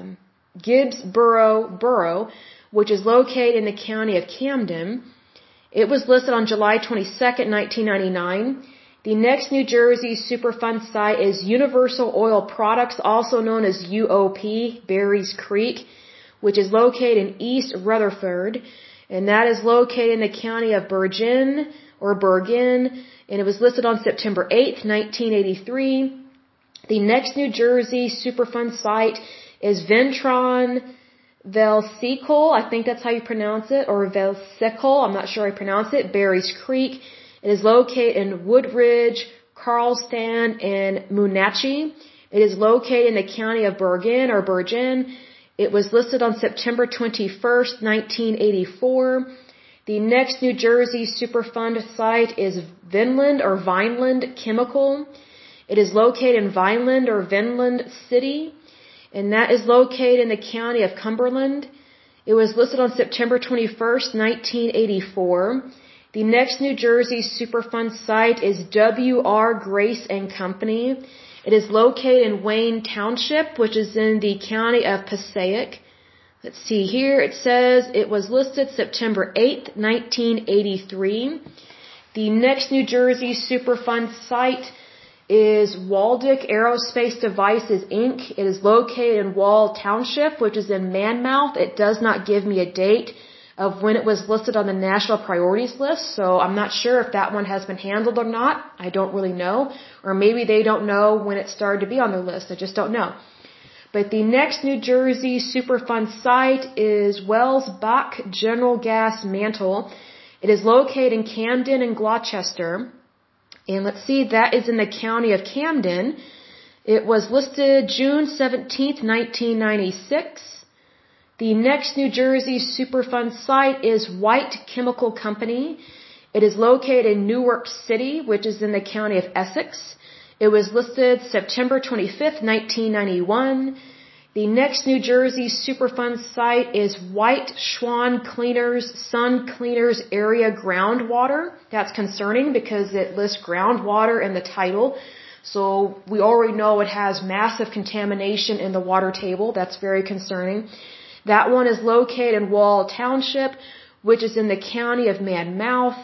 Borough, which is located in the county of Camden. It was listed on July 22nd, 1999. The next New Jersey Superfund site is Universal Oil Products, also known as UOP, Berries Creek, which is located in East Rutherford, and that is located in the county of Bergen, and it was listed on September 8th, 1983. The next New Jersey Superfund site is Ventron Velsicle, I think that's how you pronounce it, or Velsicle, I'm not sure how you pronounce it, Berries Creek. It is located in Woodridge, Carlston, and Moonachie. It is located in the county of Bergen. It was listed on September 21st, 1984. The next New Jersey Superfund site is Vineland Chemical. It is located in Vineland City, and that is located in the county of Cumberland. It was listed on September 21st, 1984. The next New Jersey Superfund site is W.R. Grace and Company. It is located in Wayne Township, which is in the county of Passaic. Let's see here. It says it was listed September 8th, 1983. The next New Jersey Superfund site is Waldick Aerospace Devices, Inc. It is located in Wall Township, which is in Monmouth. It does not give me a date of when it was listed on the national priorities list, so I'm not sure if that one has been handled or not. I don't really know. Or maybe they don't know when it started to be on their list. I just don't know. But the next New Jersey Superfund site is Wells Bach General Gas Mantle. It is located in Camden and Gloucester. And let's see, that is in the county of Camden. It was listed June 17th, 1996. The next New Jersey Superfund site is White Chemical Company. It is located in Newark City, which is in the county of Essex. It was listed September 25th, 1991. The next New Jersey Superfund site is White Swan Cleaners Sun Cleaners Area Groundwater. That's concerning because it lists groundwater in the title. So we already know it has massive contamination in the water table. That's very concerning. That one is located in Wall Township, which is in the county of Monmouth.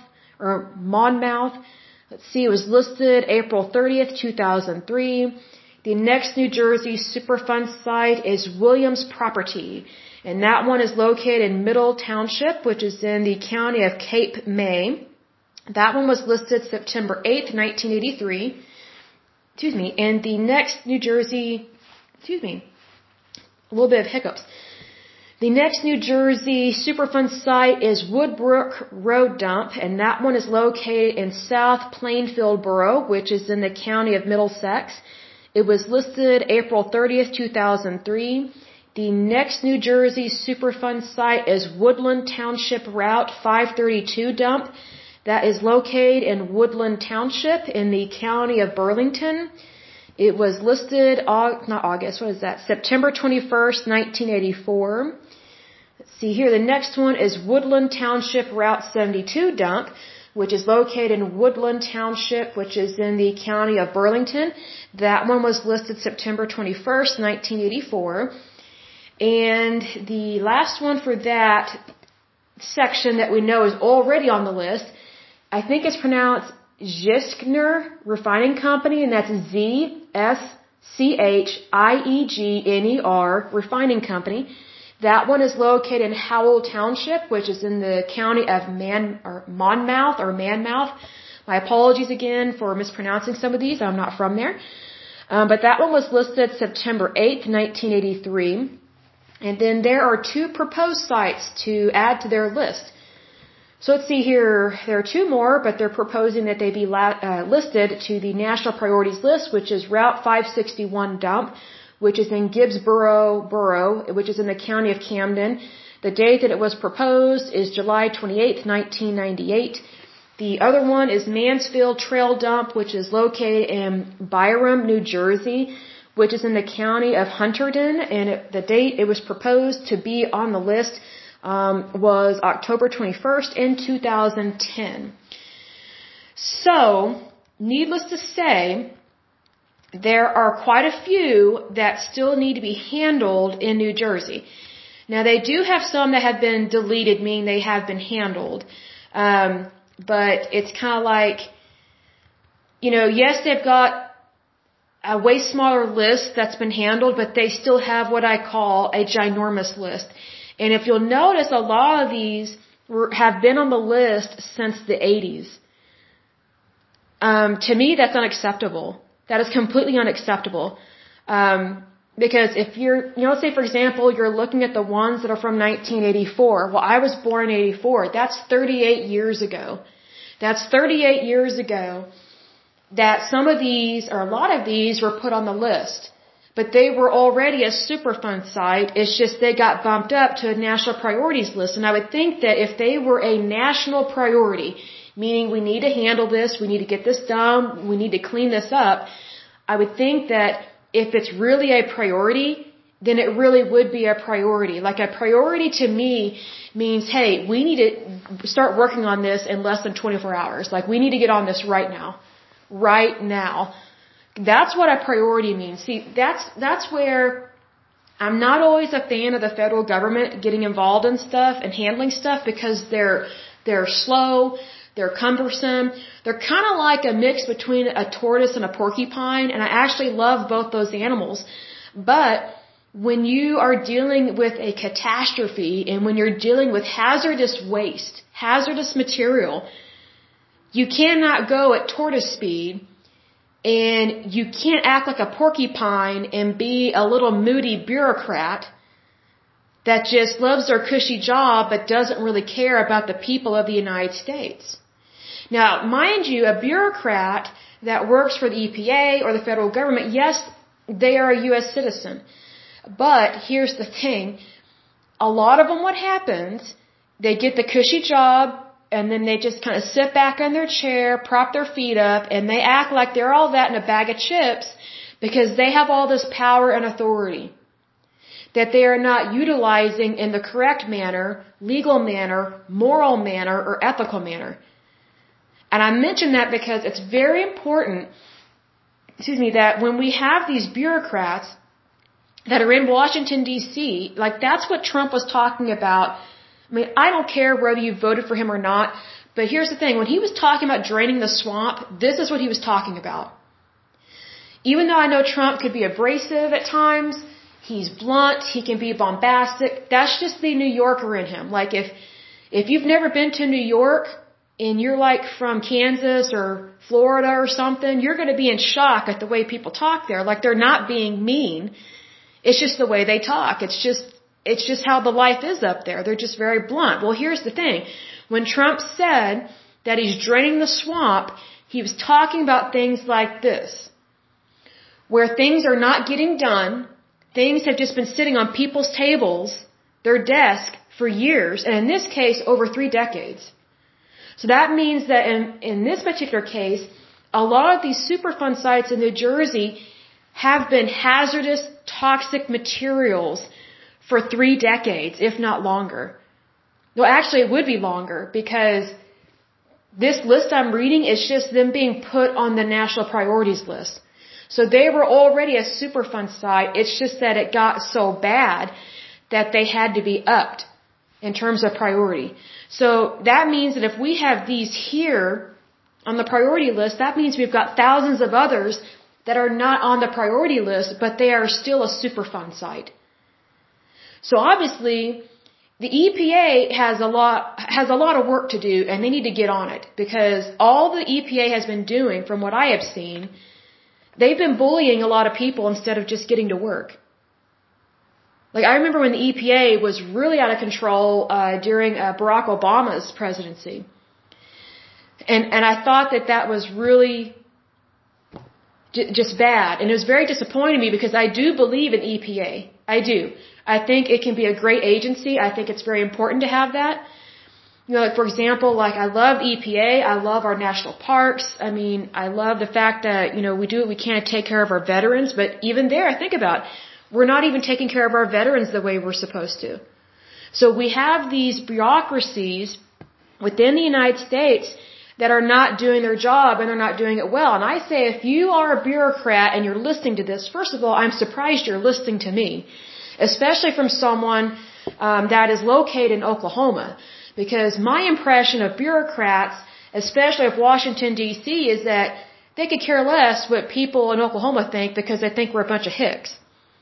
Let's see, it was listed April 30th, 2003. The next New Jersey Superfund site is Williams Property, and that one is located in Middle Township, which is in the county of Cape May. That one was listed September 8th, 1983. And the next New Jersey, a little bit of hiccups. The next New Jersey Superfund site is Woodbrook Road Dump, and that one is located in South Plainfield Borough, which is in the county of Middlesex. It was listed April 30th, 2003. The next New Jersey Superfund site is Woodland Township Route 532 Dump. that is located in Woodland Township in the county of Burlington. It was listed, September 21st, 1984. Let's see here. The next one is Woodland Township Route 72 dump, which is located in Woodland Township, which is in the county of Burlington. That one was listed September 21st, 1984. And the last one for that section that we know is already on the list, I think it's pronounced Zieschner Refining Company, and that's Zschieegner Refining Company. That one is located in Howell Township, which is in the county of Monmouth. My apologies again for mispronouncing some of these. I'm not from there. But that one was listed September 8th, 1983. And then there are 2 proposed sites to add to their list. So let's see here. There are 2 more, but they're proposing that they be listed to the National Priorities List, which is Route 561 dump, which is in Gibbsboro Borough, which is in the county of Camden. The date that it was proposed is July 28th, 1998. The other one is Mansfield Trail Dump, which is located in Byram, New Jersey, which is in the county of Hunterdon, and the date it was proposed to be on the list was October 21st in 2010. So, needless to say, there are quite a few that still need to be handled in New Jersey. Now, they do have some that have been deleted, meaning they have been handled. But it's kind of like, yes, they've got a way smaller list that's been handled, but they still have what I call a ginormous list. And if you'll notice, a lot of these have been on the list since the 80s. To me, that's unacceptable. That is completely unacceptable. Because if let's say, for example, you're looking at the ones that are from 1984. Well, I was born in 84. That's 38 years ago. That's 38 years ago that some of these, or a lot of these, were put on the list. But they were already a Superfund site. It's just they got bumped up to a national priorities list. And I would think that if they were a national priority, meaning we need to handle this, we need to get this done, we need to clean this up, I would think that if it's really a priority, then it really would be a priority. Like, a priority to me means, hey, we need to start working on this in less than 24 hours. Like, we need to get on this right now. Right now. That's what a priority means. See, that's where I'm not always a fan of the federal government getting involved in stuff and handling stuff, because they're slow, they're cumbersome. They're kind of like a mix between a tortoise and a porcupine, and I actually love both those animals. But when you are dealing with a catastrophe, and when you're dealing with hazardous waste, hazardous material, you cannot go at tortoise speed, and you can't act like a porcupine and be a little moody bureaucrat that just loves their cushy job but doesn't really care about the people of the United States. Now, mind you, a bureaucrat that works for the EPA or the federal government, yes, they are a U.S. citizen. But here's the thing. A lot of them, what happens, they get the cushy job, and then they just kind of sit back in their chair, prop their feet up, and they act like they're all that in a bag of chips because they have all this power and authority that they are not utilizing in the correct manner, legal manner, moral manner, or ethical manner. And I mention that because it's very important, that when we have these bureaucrats that are in Washington, D.C., like, that's what Trump was talking about. I mean, I don't care whether you voted for him or not, but here's the thing. When he was talking about draining the swamp, this is what he was talking about. Even though I know Trump could be abrasive at times, he's blunt, he can be bombastic, that's just the New Yorker in him. Like, if you've never been to New York, and you're like from Kansas or Florida or something, you're going to be in shock at the way people talk there. Like, they're not being mean. It's just the way they talk. It's just how the life is up there. They're just very blunt. Well, here's the thing. When Trump said that he's draining the swamp, he was talking about things like this, where things are not getting done, things have just been sitting on people's tables, their desk, for years, and in this case, over 3 decades. So that means that in this particular case, a lot of these Superfund sites in New Jersey have been hazardous, toxic materials for 3 decades, if not longer. Well, actually, it would be longer because this list I'm reading is just them being put on the national priorities list. So they were already a Superfund site. It's just that it got so bad that they had to be upped in terms of priority. So that means that if we have these here on the priority list, that means we've got thousands of others that are not on the priority list, but they are still a Superfund site. So obviously, the EPA has a lot of work to do, and they need to get on it, because all the EPA has been doing, from what I have seen, they've been bullying a lot of people instead of just getting to work. Like, I remember when the EPA was really out of control during Barack Obama's presidency. And I thought that was really just bad. And it was very disappointing to me because I do believe in EPA. I do. I think it can be a great agency. I think it's very important to have that. You know, like, for example, like, I love EPA. I love our national parks. I mean, I love the fact that, you know, we do what we can to take care of our veterans. But even there, think about it. We're not even taking care of our veterans the way we're supposed to. So we have these bureaucracies within the United States that are not doing their job, and they're not doing it well. And I say, if you are a bureaucrat and you're listening to this, first of all, I'm surprised you're listening to me, especially from someone that is located in Oklahoma. Because my impression of bureaucrats, especially of Washington, D.C., is that they could care less what people in Oklahoma think because they think we're a bunch of hicks.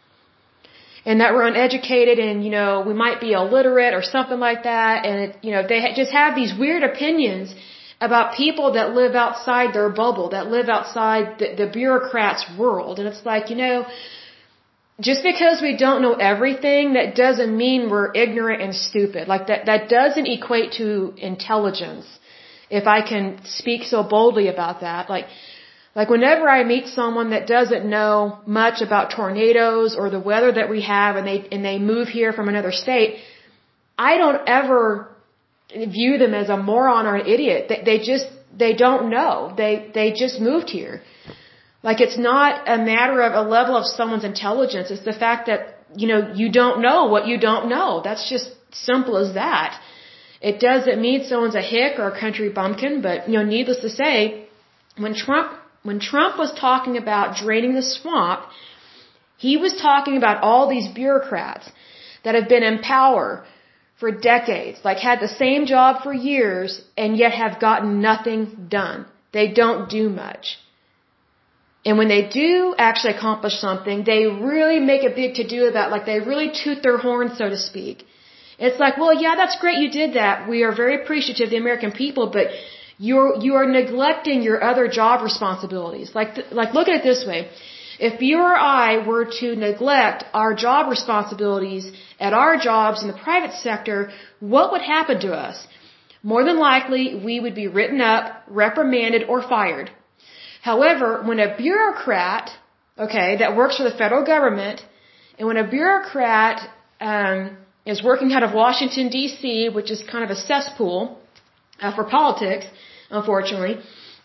And that we're uneducated and, you know, we might be illiterate or something like that. And, you know, they just have these weird opinions about people that live outside their bubble, that live outside the bureaucrats' world. And it's like, you know, just because we don't know everything, that doesn't mean we're ignorant and stupid. Like, that doesn't equate to intelligence, if I can speak so boldly about that. Like whenever I meet someone that doesn't know much about tornadoes or the weather that we have, and they move here from another state, I don't ever view them as a moron or an idiot. They don't know. They just moved here. Like, it's not a matter of a level of someone's intelligence. It's the fact that, you know, you don't know what you don't know. That's just simple as that. It doesn't mean someone's a hick or a country bumpkin, but, you know, needless to say, when Trump was talking about draining the swamp, he was talking about all these bureaucrats that have been in power for decades, like had the same job for years, and yet have gotten nothing done. They don't do much. And when they do actually accomplish something, they really make a big to-do about, like, they really toot their horn, so to speak. It's like, well, yeah, that's great you did that. We are very appreciative of the American people, but you are neglecting your other job responsibilities. Like, look at it this way. If you or I were to neglect our job responsibilities at our jobs in the private sector, what would happen to us? More than likely, we would be written up, reprimanded, or fired. However, when a bureaucrat, okay, that works for the federal government, and when a bureaucrat is working out of Washington, D.C., which is kind of a cesspool for politics, unfortunately,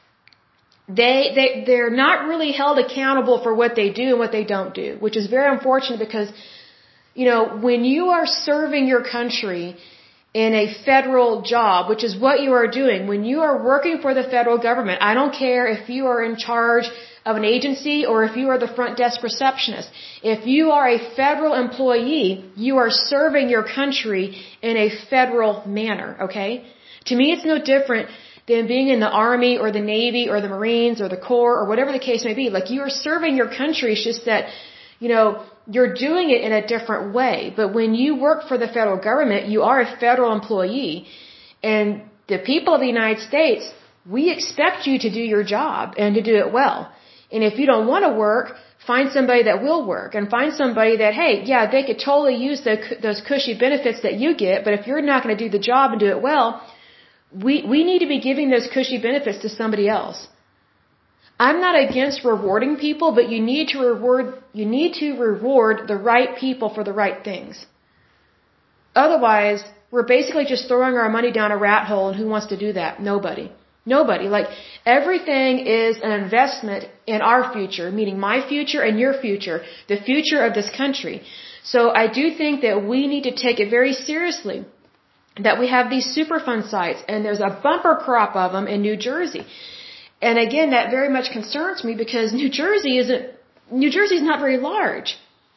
they're not really held accountable for what they do and what they don't do, which is very unfortunate because, you know, when you are serving your country in a federal job, which is what you are doing, when you are working for the federal government, I don't care if you are in charge of an agency or if you are the front desk receptionist. If you are a federal employee, you are serving your country in a federal manner, okay? To me, it's no different than being in the Army or the Navy or the Marines or the Corps or whatever the case may be. Like, you are serving your country. It's just that, you know, you're doing it in a different way. But when you work for the federal government, you are a federal employee. And the people of the United States, we expect you to do your job and to do it well. And if you don't want to work, find somebody that will work, and find somebody that, hey, yeah, they could totally use those cushy benefits that you get, but if you're not going to do the job and do it well, we need to be giving those cushy benefits to somebody else. I'm not against rewarding people, but you need to reward the right people for the right things. Otherwise, we're basically just throwing our money down a rat hole, and who wants to do that? Nobody. Nobody. Like, everything is an investment in our future, meaning my future and your future, the future of this country. So I do think that we need to take it very seriously that we have these Superfund sites, and there's a bumper crop of them in New Jersey. And again, that very much concerns me because New Jersey is not very large.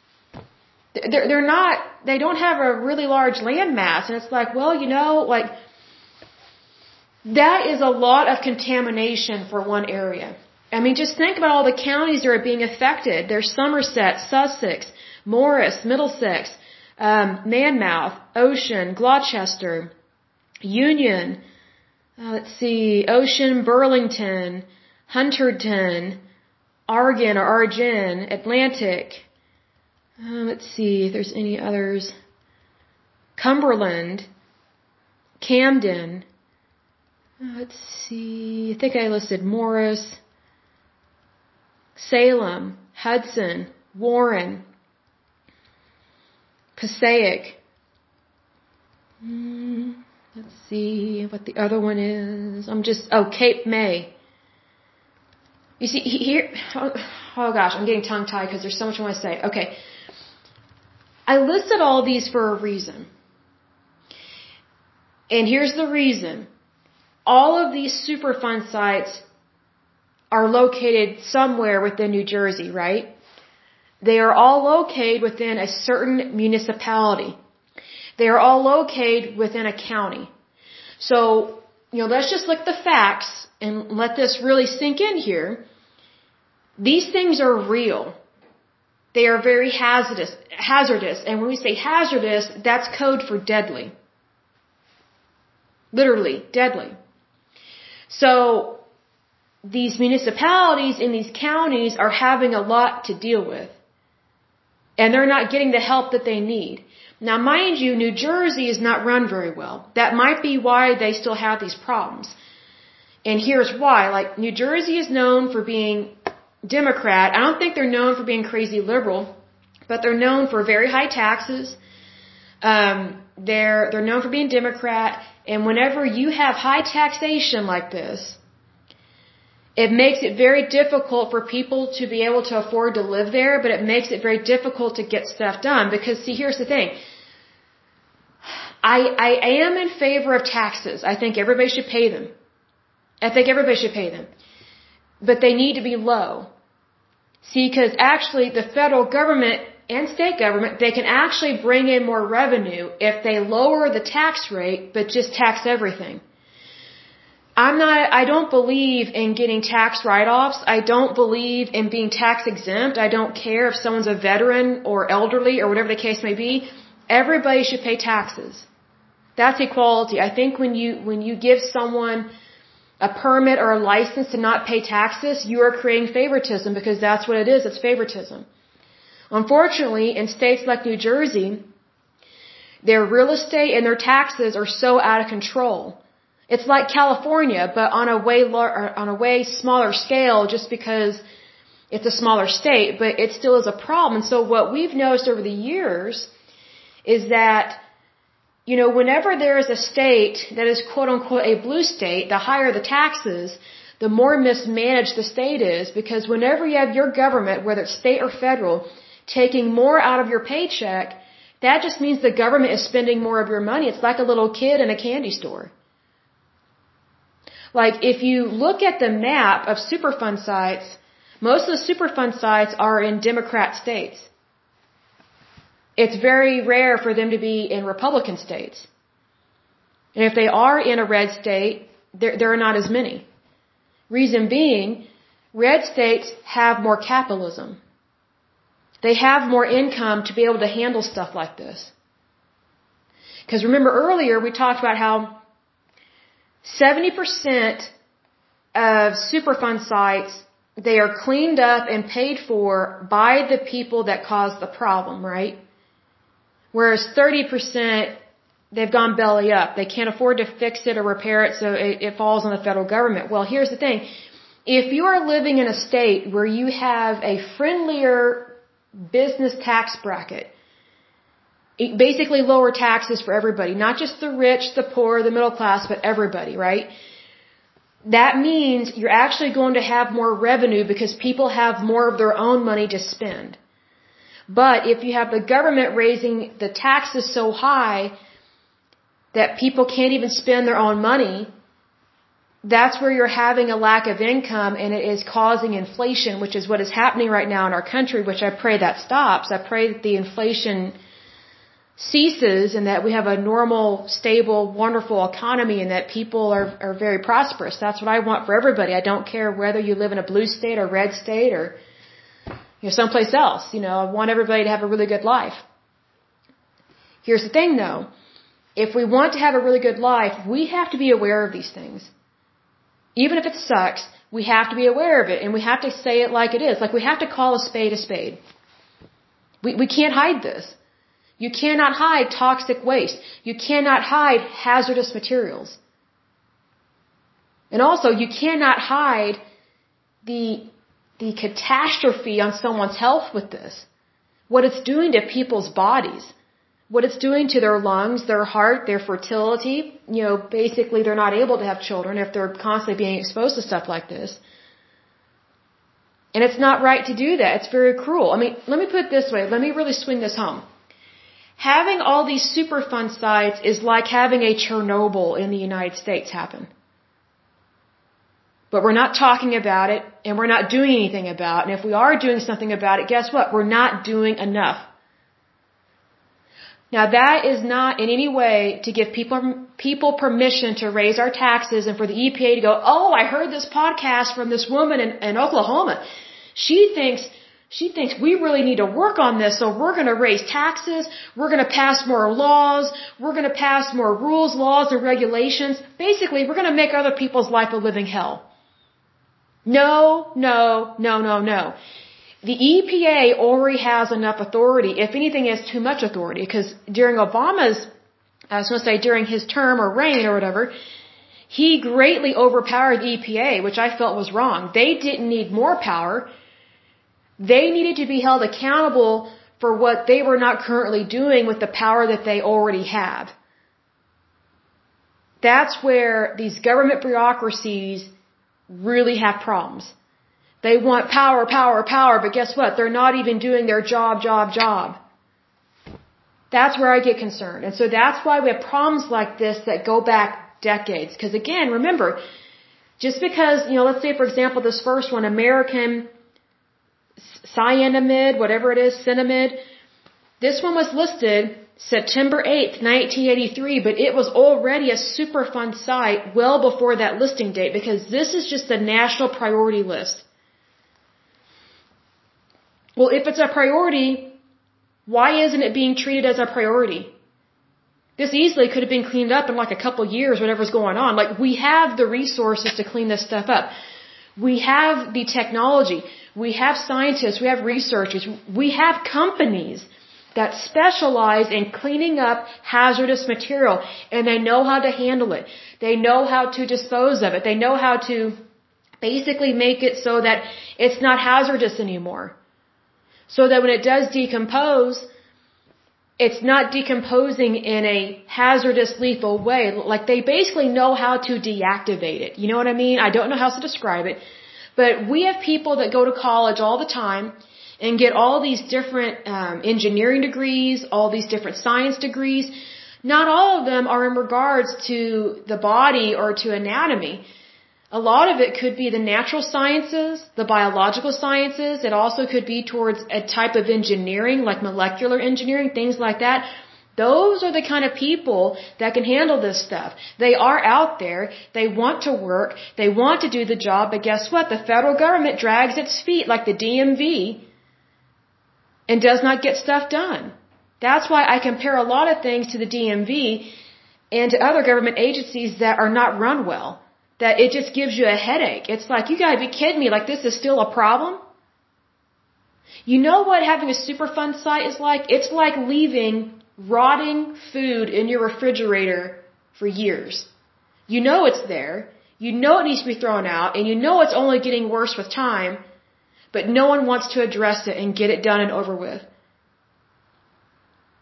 They don't have a really large land mass. And it's like, well, like, that is a lot of contamination for one area. I mean, just think about all the counties that are being affected. There's Somerset, Sussex, Morris, Middlesex, Monmouth, Ocean, Gloucester, Union, Ocean, Burlington, Hunterdon, Argin, Atlantic. Let's see if there's any others. Cumberland, Camden. Let's see. I think I listed Morris, Salem, Hudson, Warren, Passaic. Let's see what the other one is. Cape May. You see, here, oh gosh, I'm getting tongue-tied because there's so much I want to say. Okay. I listed all these for a reason. And here's the reason. All of these Superfund sites are located somewhere within New Jersey, right? They are all located within a certain municipality. They are all located within a county. So, let's just look at the facts and let this really sink in here. These things are real. They are very hazardous. And when we say hazardous, that's code for deadly. Literally, deadly. So, these municipalities in these counties are having a lot to deal with. And they're not getting the help that they need. Now, mind you, New Jersey is not run very well. That might be why they still have these problems. And here's why. Like, New Jersey is known for being Democrat. I don't think they're known for being crazy liberal, but they're known for very high taxes. They're known for being Democrat. And whenever you have high taxation like this, it makes it very difficult for people to be able to afford to live there, but it makes it very difficult to get stuff done. Because, see, here's the thing. I am in favor of taxes. I think everybody should pay them. But they need to be low. See, because actually the federal government and state government, they can actually bring in more revenue if they lower the tax rate, but just tax everything. I don't believe in getting tax write-offs. I don't believe in being tax exempt. I don't care if someone's a veteran or elderly or whatever the case may be. Everybody should pay taxes. That's equality. I think when you give someone a permit or a license to not pay taxes, you are creating favoritism because that's what it is. It's favoritism. Unfortunately, in states like New Jersey, their real estate and their taxes are so out of control. It's like California, but on a way smaller scale, just because it's a smaller state, but it still is a problem. And so what we've noticed over the years is that, whenever there is a state that is quote unquote a blue state, the higher the taxes, the more mismanaged the state is, because whenever you have your government, whether it's state or federal, taking more out of your paycheck, that just means the government is spending more of your money. It's like a little kid in a candy store. Like, if you look at the map of Superfund sites, most of the Superfund sites are in Democrat states. It's very rare for them to be in Republican states. And if they are in a red state, there are not as many. Reason being, red states have more capitalism. They have more income to be able to handle stuff like this. Because remember earlier we talked about how 70% of Superfund sites, they are cleaned up and paid for by the people that caused the problem, right? Whereas 30%, they've gone belly up. They can't afford to fix it or repair it, so it falls on the federal government. Well, here's the thing. If you are living in a state where you have a friendlier business tax bracket, Basically lower taxes for everybody, not just the rich, the poor, the middle class, but everybody, right? That means you're actually going to have more revenue because people have more of their own money to spend. But if you have the government raising the taxes so high that people can't even spend their own money, that's where you're having a lack of income, and it is causing inflation, which is what is happening right now in our country, which I pray that stops. I pray that the inflation ceases and that we have a normal, stable, wonderful economy and that people are very prosperous. That's what I want for everybody. I don't care whether you live in a blue state or red state or someplace else. I want everybody to have a really good life. Here's the thing though. If we want to have a really good life, we have to be aware of these things. Even if it sucks, we have to be aware of it and we have to say it like it is. Like we have to call a spade a spade. We can't hide this. You cannot hide toxic waste. You cannot hide hazardous materials. And also, you cannot hide the catastrophe on someone's health with this. What it's doing to people's bodies. What it's doing to their lungs, their heart, their fertility. Basically they're not able to have children if they're constantly being exposed to stuff like this. And it's not right to do that. It's very cruel. Let me put it this way. Let me really swing this home. Having all these Superfund sites is like having a Chernobyl in the United States happen. But we're not talking about it, and we're not doing anything about it. And if we are doing something about it, guess what? We're not doing enough. Now that is not in any way to give people permission to raise our taxes and for the EPA to go, oh, I heard this podcast from this woman in Oklahoma. She thinks we really need to work on this, so we're going to raise taxes, we're going to pass more laws, we're going to pass more rules, laws, and regulations. Basically, we're going to make other people's life a living hell. No. The EPA already has enough authority. If anything, it has too much authority, because during during his term or reign or whatever, he greatly overpowered the EPA, which I felt was wrong. They didn't need more power. They needed to be held accountable for what they were not currently doing with the power that they already have. That's where these government bureaucracies really have problems. They want power, but guess what? They're not even doing their job. That's where I get concerned. And so that's why we have problems like this that go back decades. Because again, remember, just because, let's say for example, this first one, American cyanamide, whatever it is, Cinamide. This one was listed September 8th, 1983, but it was already a Superfund site well before that listing date because this is just the national priority list. Well, if it's a priority, why isn't it being treated as a priority? This easily could have been cleaned up in like a couple years, whatever's going on. Like, we have the resources to clean this stuff up. We have the technology. We have scientists. We have researchers. We have companies that specialize in cleaning up hazardous material, and they know how to handle it. They know how to dispose of it. They know how to basically make it so that it's not hazardous anymore. So that when it does decompose, it's not decomposing in a hazardous, lethal way. Like, they basically know how to deactivate it. You know what I mean? I don't know how else to describe it. But we have people that go to college all the time and get all these different engineering degrees, all these different science degrees. Not all of them are in regards to the body or to anatomy. A lot of it could be the natural sciences, the biological sciences. It also could be towards a type of engineering, like molecular engineering, things like that. Those are the kind of people that can handle this stuff. They are out there. They want to work. They want to do the job. But guess what? The federal government drags its feet like the DMV and does not get stuff done. That's why I compare a lot of things to the DMV and to other government agencies that are not run well. That it just gives you a headache. It's like, you gotta be kidding me, like this is still a problem? You know what having a Superfund site is like? It's like leaving rotting food in your refrigerator for years. You know it's there, you know it needs to be thrown out, and you know it's only getting worse with time, but no one wants to address it and get it done and over with.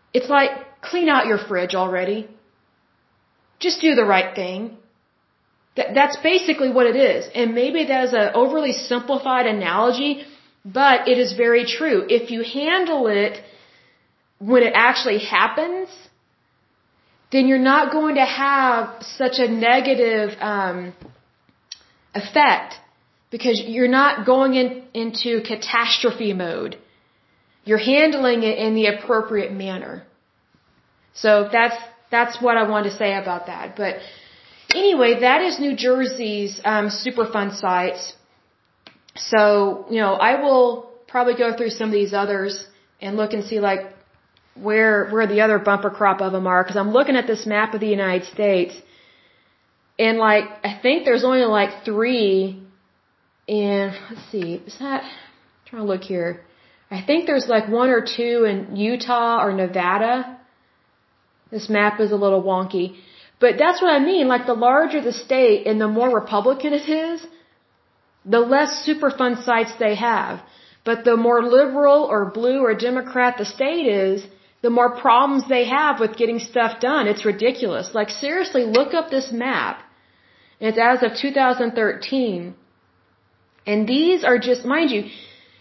It's like, clean out your fridge already. Just do the right thing. That's basically what it is. And maybe that is an overly simplified analogy, but it is very true. If you handle it when it actually happens, then you're not going to have such a negative effect, because you're not going into catastrophe mode. You're handling it in the appropriate manner. So that's what I wanted to say about that. But anyway, that is New Jersey's Superfund sites. So, I will probably go through some of these others and look and see like where the other bumper crop of them are, because I'm looking at this map of the United States, and like I think there's only like 3 in, let's see, I'm trying to look here. I think there's like 1 or 2 in Utah or Nevada. This map is a little wonky. But that's what I mean. Like, the larger the state and the more Republican it is, the less Superfund sites they have. But the more liberal or blue or Democrat the state is, the more problems they have with getting stuff done. It's ridiculous. Like, seriously, look up this map. It's as of 2013. And these are just, mind you,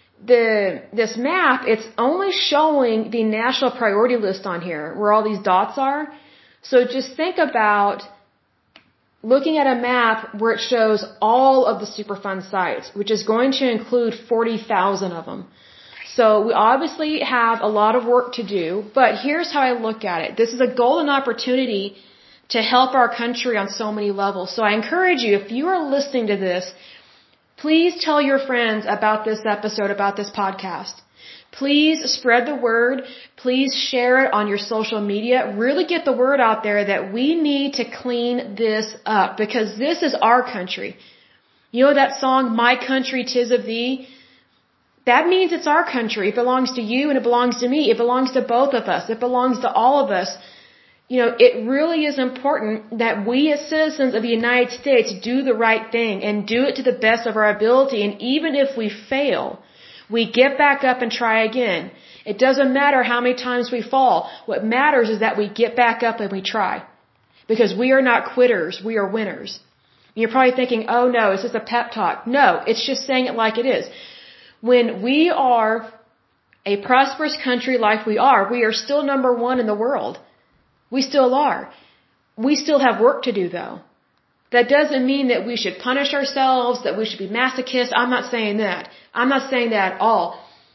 this map, it's only showing the national priority list on here, where all these dots are. So just think about looking at a map where it shows all of the Superfund sites, which is going to include 40,000 of them. So we obviously have a lot of work to do, but here's how I look at it. This is a golden opportunity to help our country on so many levels. So I encourage you, if you are listening to this, please tell your friends about this episode, about this podcast. Please spread the word. Please share it on your social media. Really get the word out there that we need to clean this up, because this is our country. You know that song, My Country 'Tis of Thee? That means it's our country. It belongs to you and it belongs to me. It belongs to both of us. It belongs to all of us. It really is important that we as citizens of the United States do the right thing and do it to the best of our ability. And even if we fail, we get back up and try again. It doesn't matter how many times we fall. What matters is that we get back up and we try. Because we are not quitters. We are winners. You're probably thinking, oh no, it's just a pep talk. No, it's just saying it like it is. When we are a prosperous country like we are still number 1 in the world. We still are. We still have work to do, though. That doesn't mean that we should punish ourselves, that we should be masochists. I'm not saying that. I'm not saying that at all.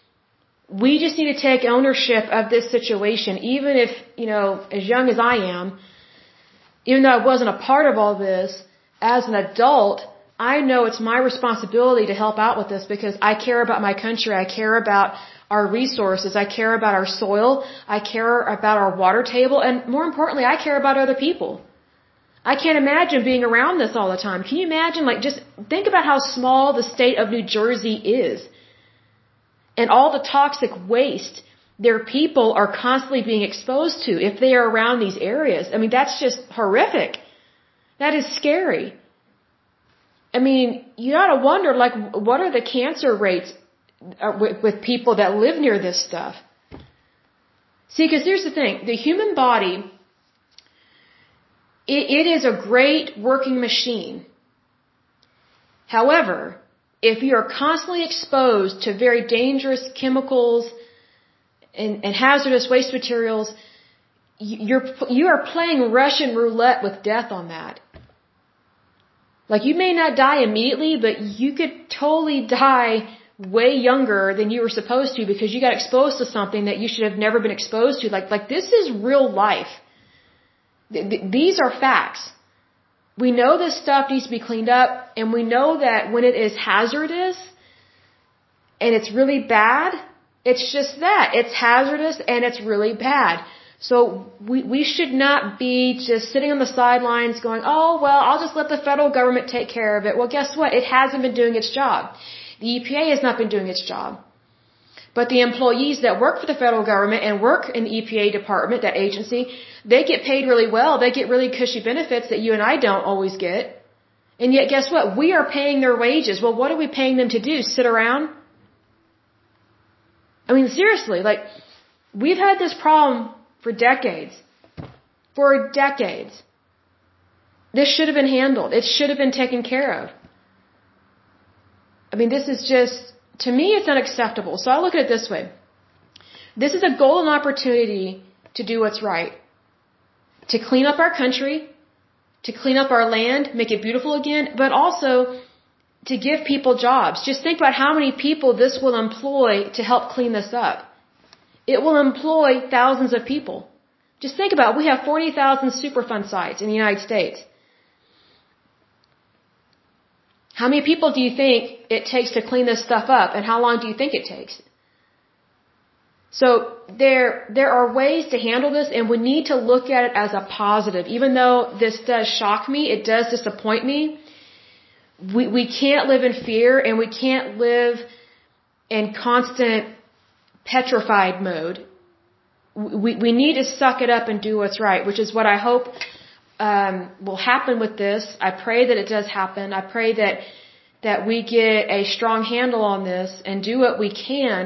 We just need to take ownership of this situation, even if, as young as I am, even though I wasn't a part of all this, as an adult, I know it's my responsibility to help out with this, because I care about my country. I care about our resources. I care about our soil. I care about our water table. And more importantly, I care about other people. I can't imagine being around this all the time. Can you imagine? Just think about how small the state of New Jersey is. And all the toxic waste their people are constantly being exposed to if they are around these areas. I mean, that's just horrific. That is scary. I mean, you gotta wonder, what are the cancer rates with people that live near this stuff? See, because here's the thing. The human body, it is a great working machine. However, if you are constantly exposed to very dangerous chemicals and hazardous waste materials, you are playing Russian roulette with death on that. You may not die immediately, but you could totally die way younger than you were supposed to, because you got exposed to something that you should have never been exposed to. This is real life. These are facts. We know this stuff needs to be cleaned up, and we know that when it is hazardous and it's really bad, it's just that. It's hazardous and it's really bad. So we should not be just sitting on the sidelines going, oh, well, I'll just let the federal government take care of it. Well, guess what? It hasn't been doing its job. The EPA has not been doing its job. But the employees that work for the federal government and work in the EPA department, that agency, they get paid really well. They get really cushy benefits that you and I don't always get. And yet, guess what? We are paying their wages. Well, what are we paying them to do? Sit around? I mean, seriously, we've had this problem for decades. For decades. This should have been handled. It should have been taken care of. I mean, this is just, to me, it's unacceptable. So I look at it this way. This is a golden opportunity to do what's right. To clean up our country, to clean up our land, make it beautiful again, but also to give people jobs. Just think about how many people this will employ to help clean this up. It will employ thousands of people. Just think about it. We have 40,000 Superfund sites in the United States. How many people do you think it takes to clean this stuff up, and how long do you think it takes? So there are ways to handle this, and we need to look at it as a positive. Even though this does shock me, it does disappoint me, we can't live in fear, and we can't live in constant petrified mode. We need to suck it up and do what's right, which is what I hope will happen with this. I pray that it does happen. I pray that we get a strong handle on this and do what we can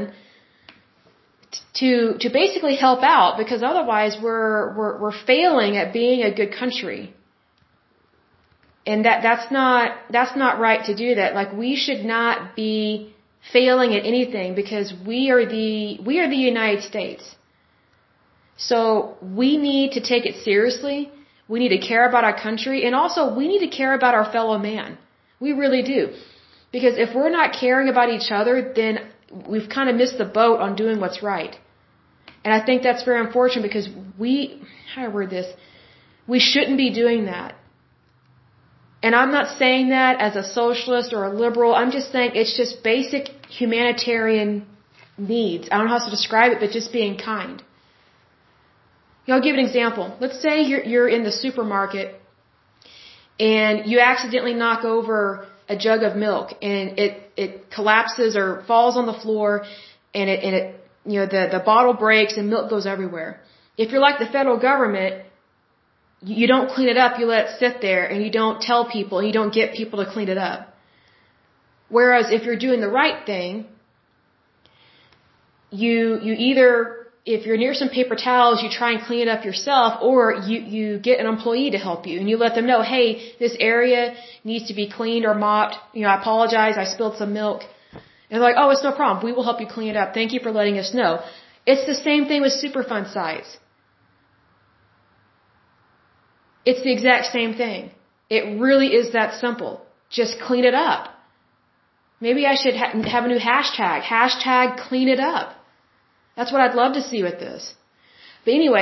to basically help out, because otherwise we're failing at being a good country. And that's not right to do that. Like, we should not be failing at anything, because we are the United States. So we need to take it seriously. We need to care about our country, and also we need to care about our fellow man. We really do. Because if we're not caring about each other, then we've kind of missed the boat on doing what's right. And I think that's very unfortunate, because how do I word this? We shouldn't be doing that. And I'm not saying that as a socialist or a liberal. I'm just saying it's just basic humanitarian needs. I don't know how else to describe it, but just being kind. I'll give an example. Let's say you're in the supermarket and you accidentally knock over a jug of milk, and it collapses or falls on the floor, and the bottle breaks and milk goes everywhere. If you're like the federal government, you don't clean it up, you let it sit there, and you don't tell people, and you don't get people to clean it up. Whereas if you're doing the right thing, you either, if you're near some paper towels, you try and clean it up yourself, or you get an employee to help you, and you let them know, hey, this area needs to be cleaned or mopped. I apologize, I spilled some milk. And they're like, oh, it's no problem. We will help you clean it up. Thank you for letting us know. It's the same thing with Superfund sites. It's the exact same thing. It really is that simple. Just clean it up. Maybe I should have a new hashtag. Hashtag clean it up. That's what I'd love to see with this. But anyway,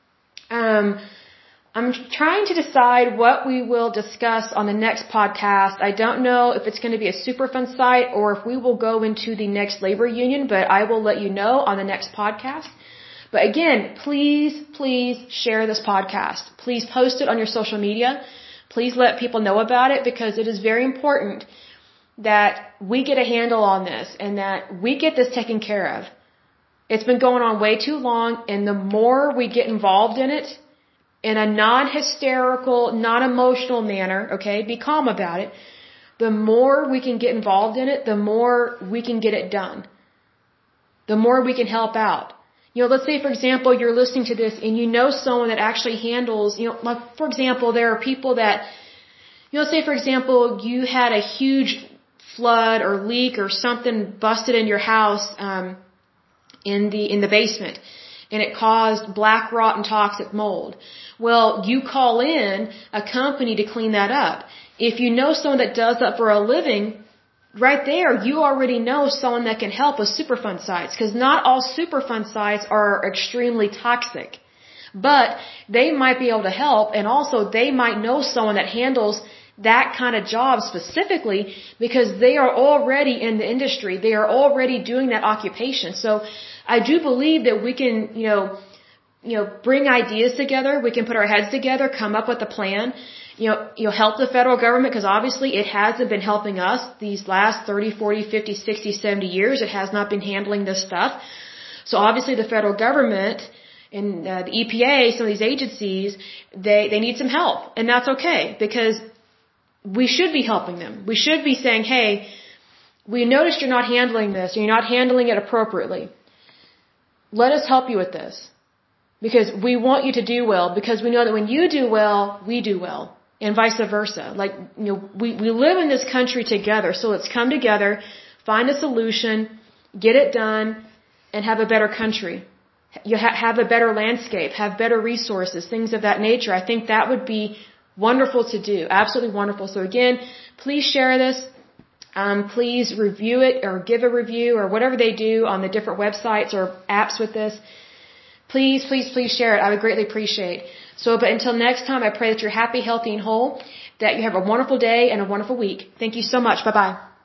I'm trying to decide what we will discuss on the next podcast. I don't know if it's going to be a Superfund site or if we will go into the next labor union, but I will let you know on the next podcast. But again, please share this podcast. Please post it on your social media. Please let people know about it, because it is very important that we get a handle on this and that we get this taken care of. It's been going on way too long, and the more we get involved in it, in a non-hysterical, non-emotional manner, okay, be calm about it, the more we can get involved in it, the more we can get it done. The more we can help out. Let's say, for example, you're listening to this and you know someone that actually handles, like, for example, there are people that, let's say, for example, you had a huge flood or leak or something busted in your house, in the basement, and it caused black rot and toxic mold. Well, you call in a company to clean that up. If you know someone that does that for a living, right there, you already know someone that can help with Superfund sites, because not all Superfund sites are extremely toxic. But they might be able to help, and also they might know someone that handles that kind of job specifically, because they are already in the industry. They are already doing that occupation. So I do believe that we can, bring ideas together. We can put our heads together, come up with a plan, help the federal government, because obviously it hasn't been helping us these last 30, 40, 50, 60, 70 years. It has not been handling this stuff. So obviously the federal government and the EPA, some of these agencies, they need some help. And that's okay, because we should be helping them. We should be saying, hey, we noticed you're not handling this, or you're not handling it appropriately. Let us help you with this. Because we want you to do well, because we know that when you do well, we do well. And vice versa. Like, we live in this country together, so let's come together, find a solution, get it done, and have a better country. You have a better landscape, have better resources, things of that nature. I think that would be wonderful to do. Absolutely wonderful. So again, please share this. Please review it or give a review or whatever they do on the different websites or apps with this. Please, please, please share it. I would greatly appreciate. So, but until next time, I pray that you're happy, healthy, and whole, that you have a wonderful day and a wonderful week. Thank you so much. Bye-bye.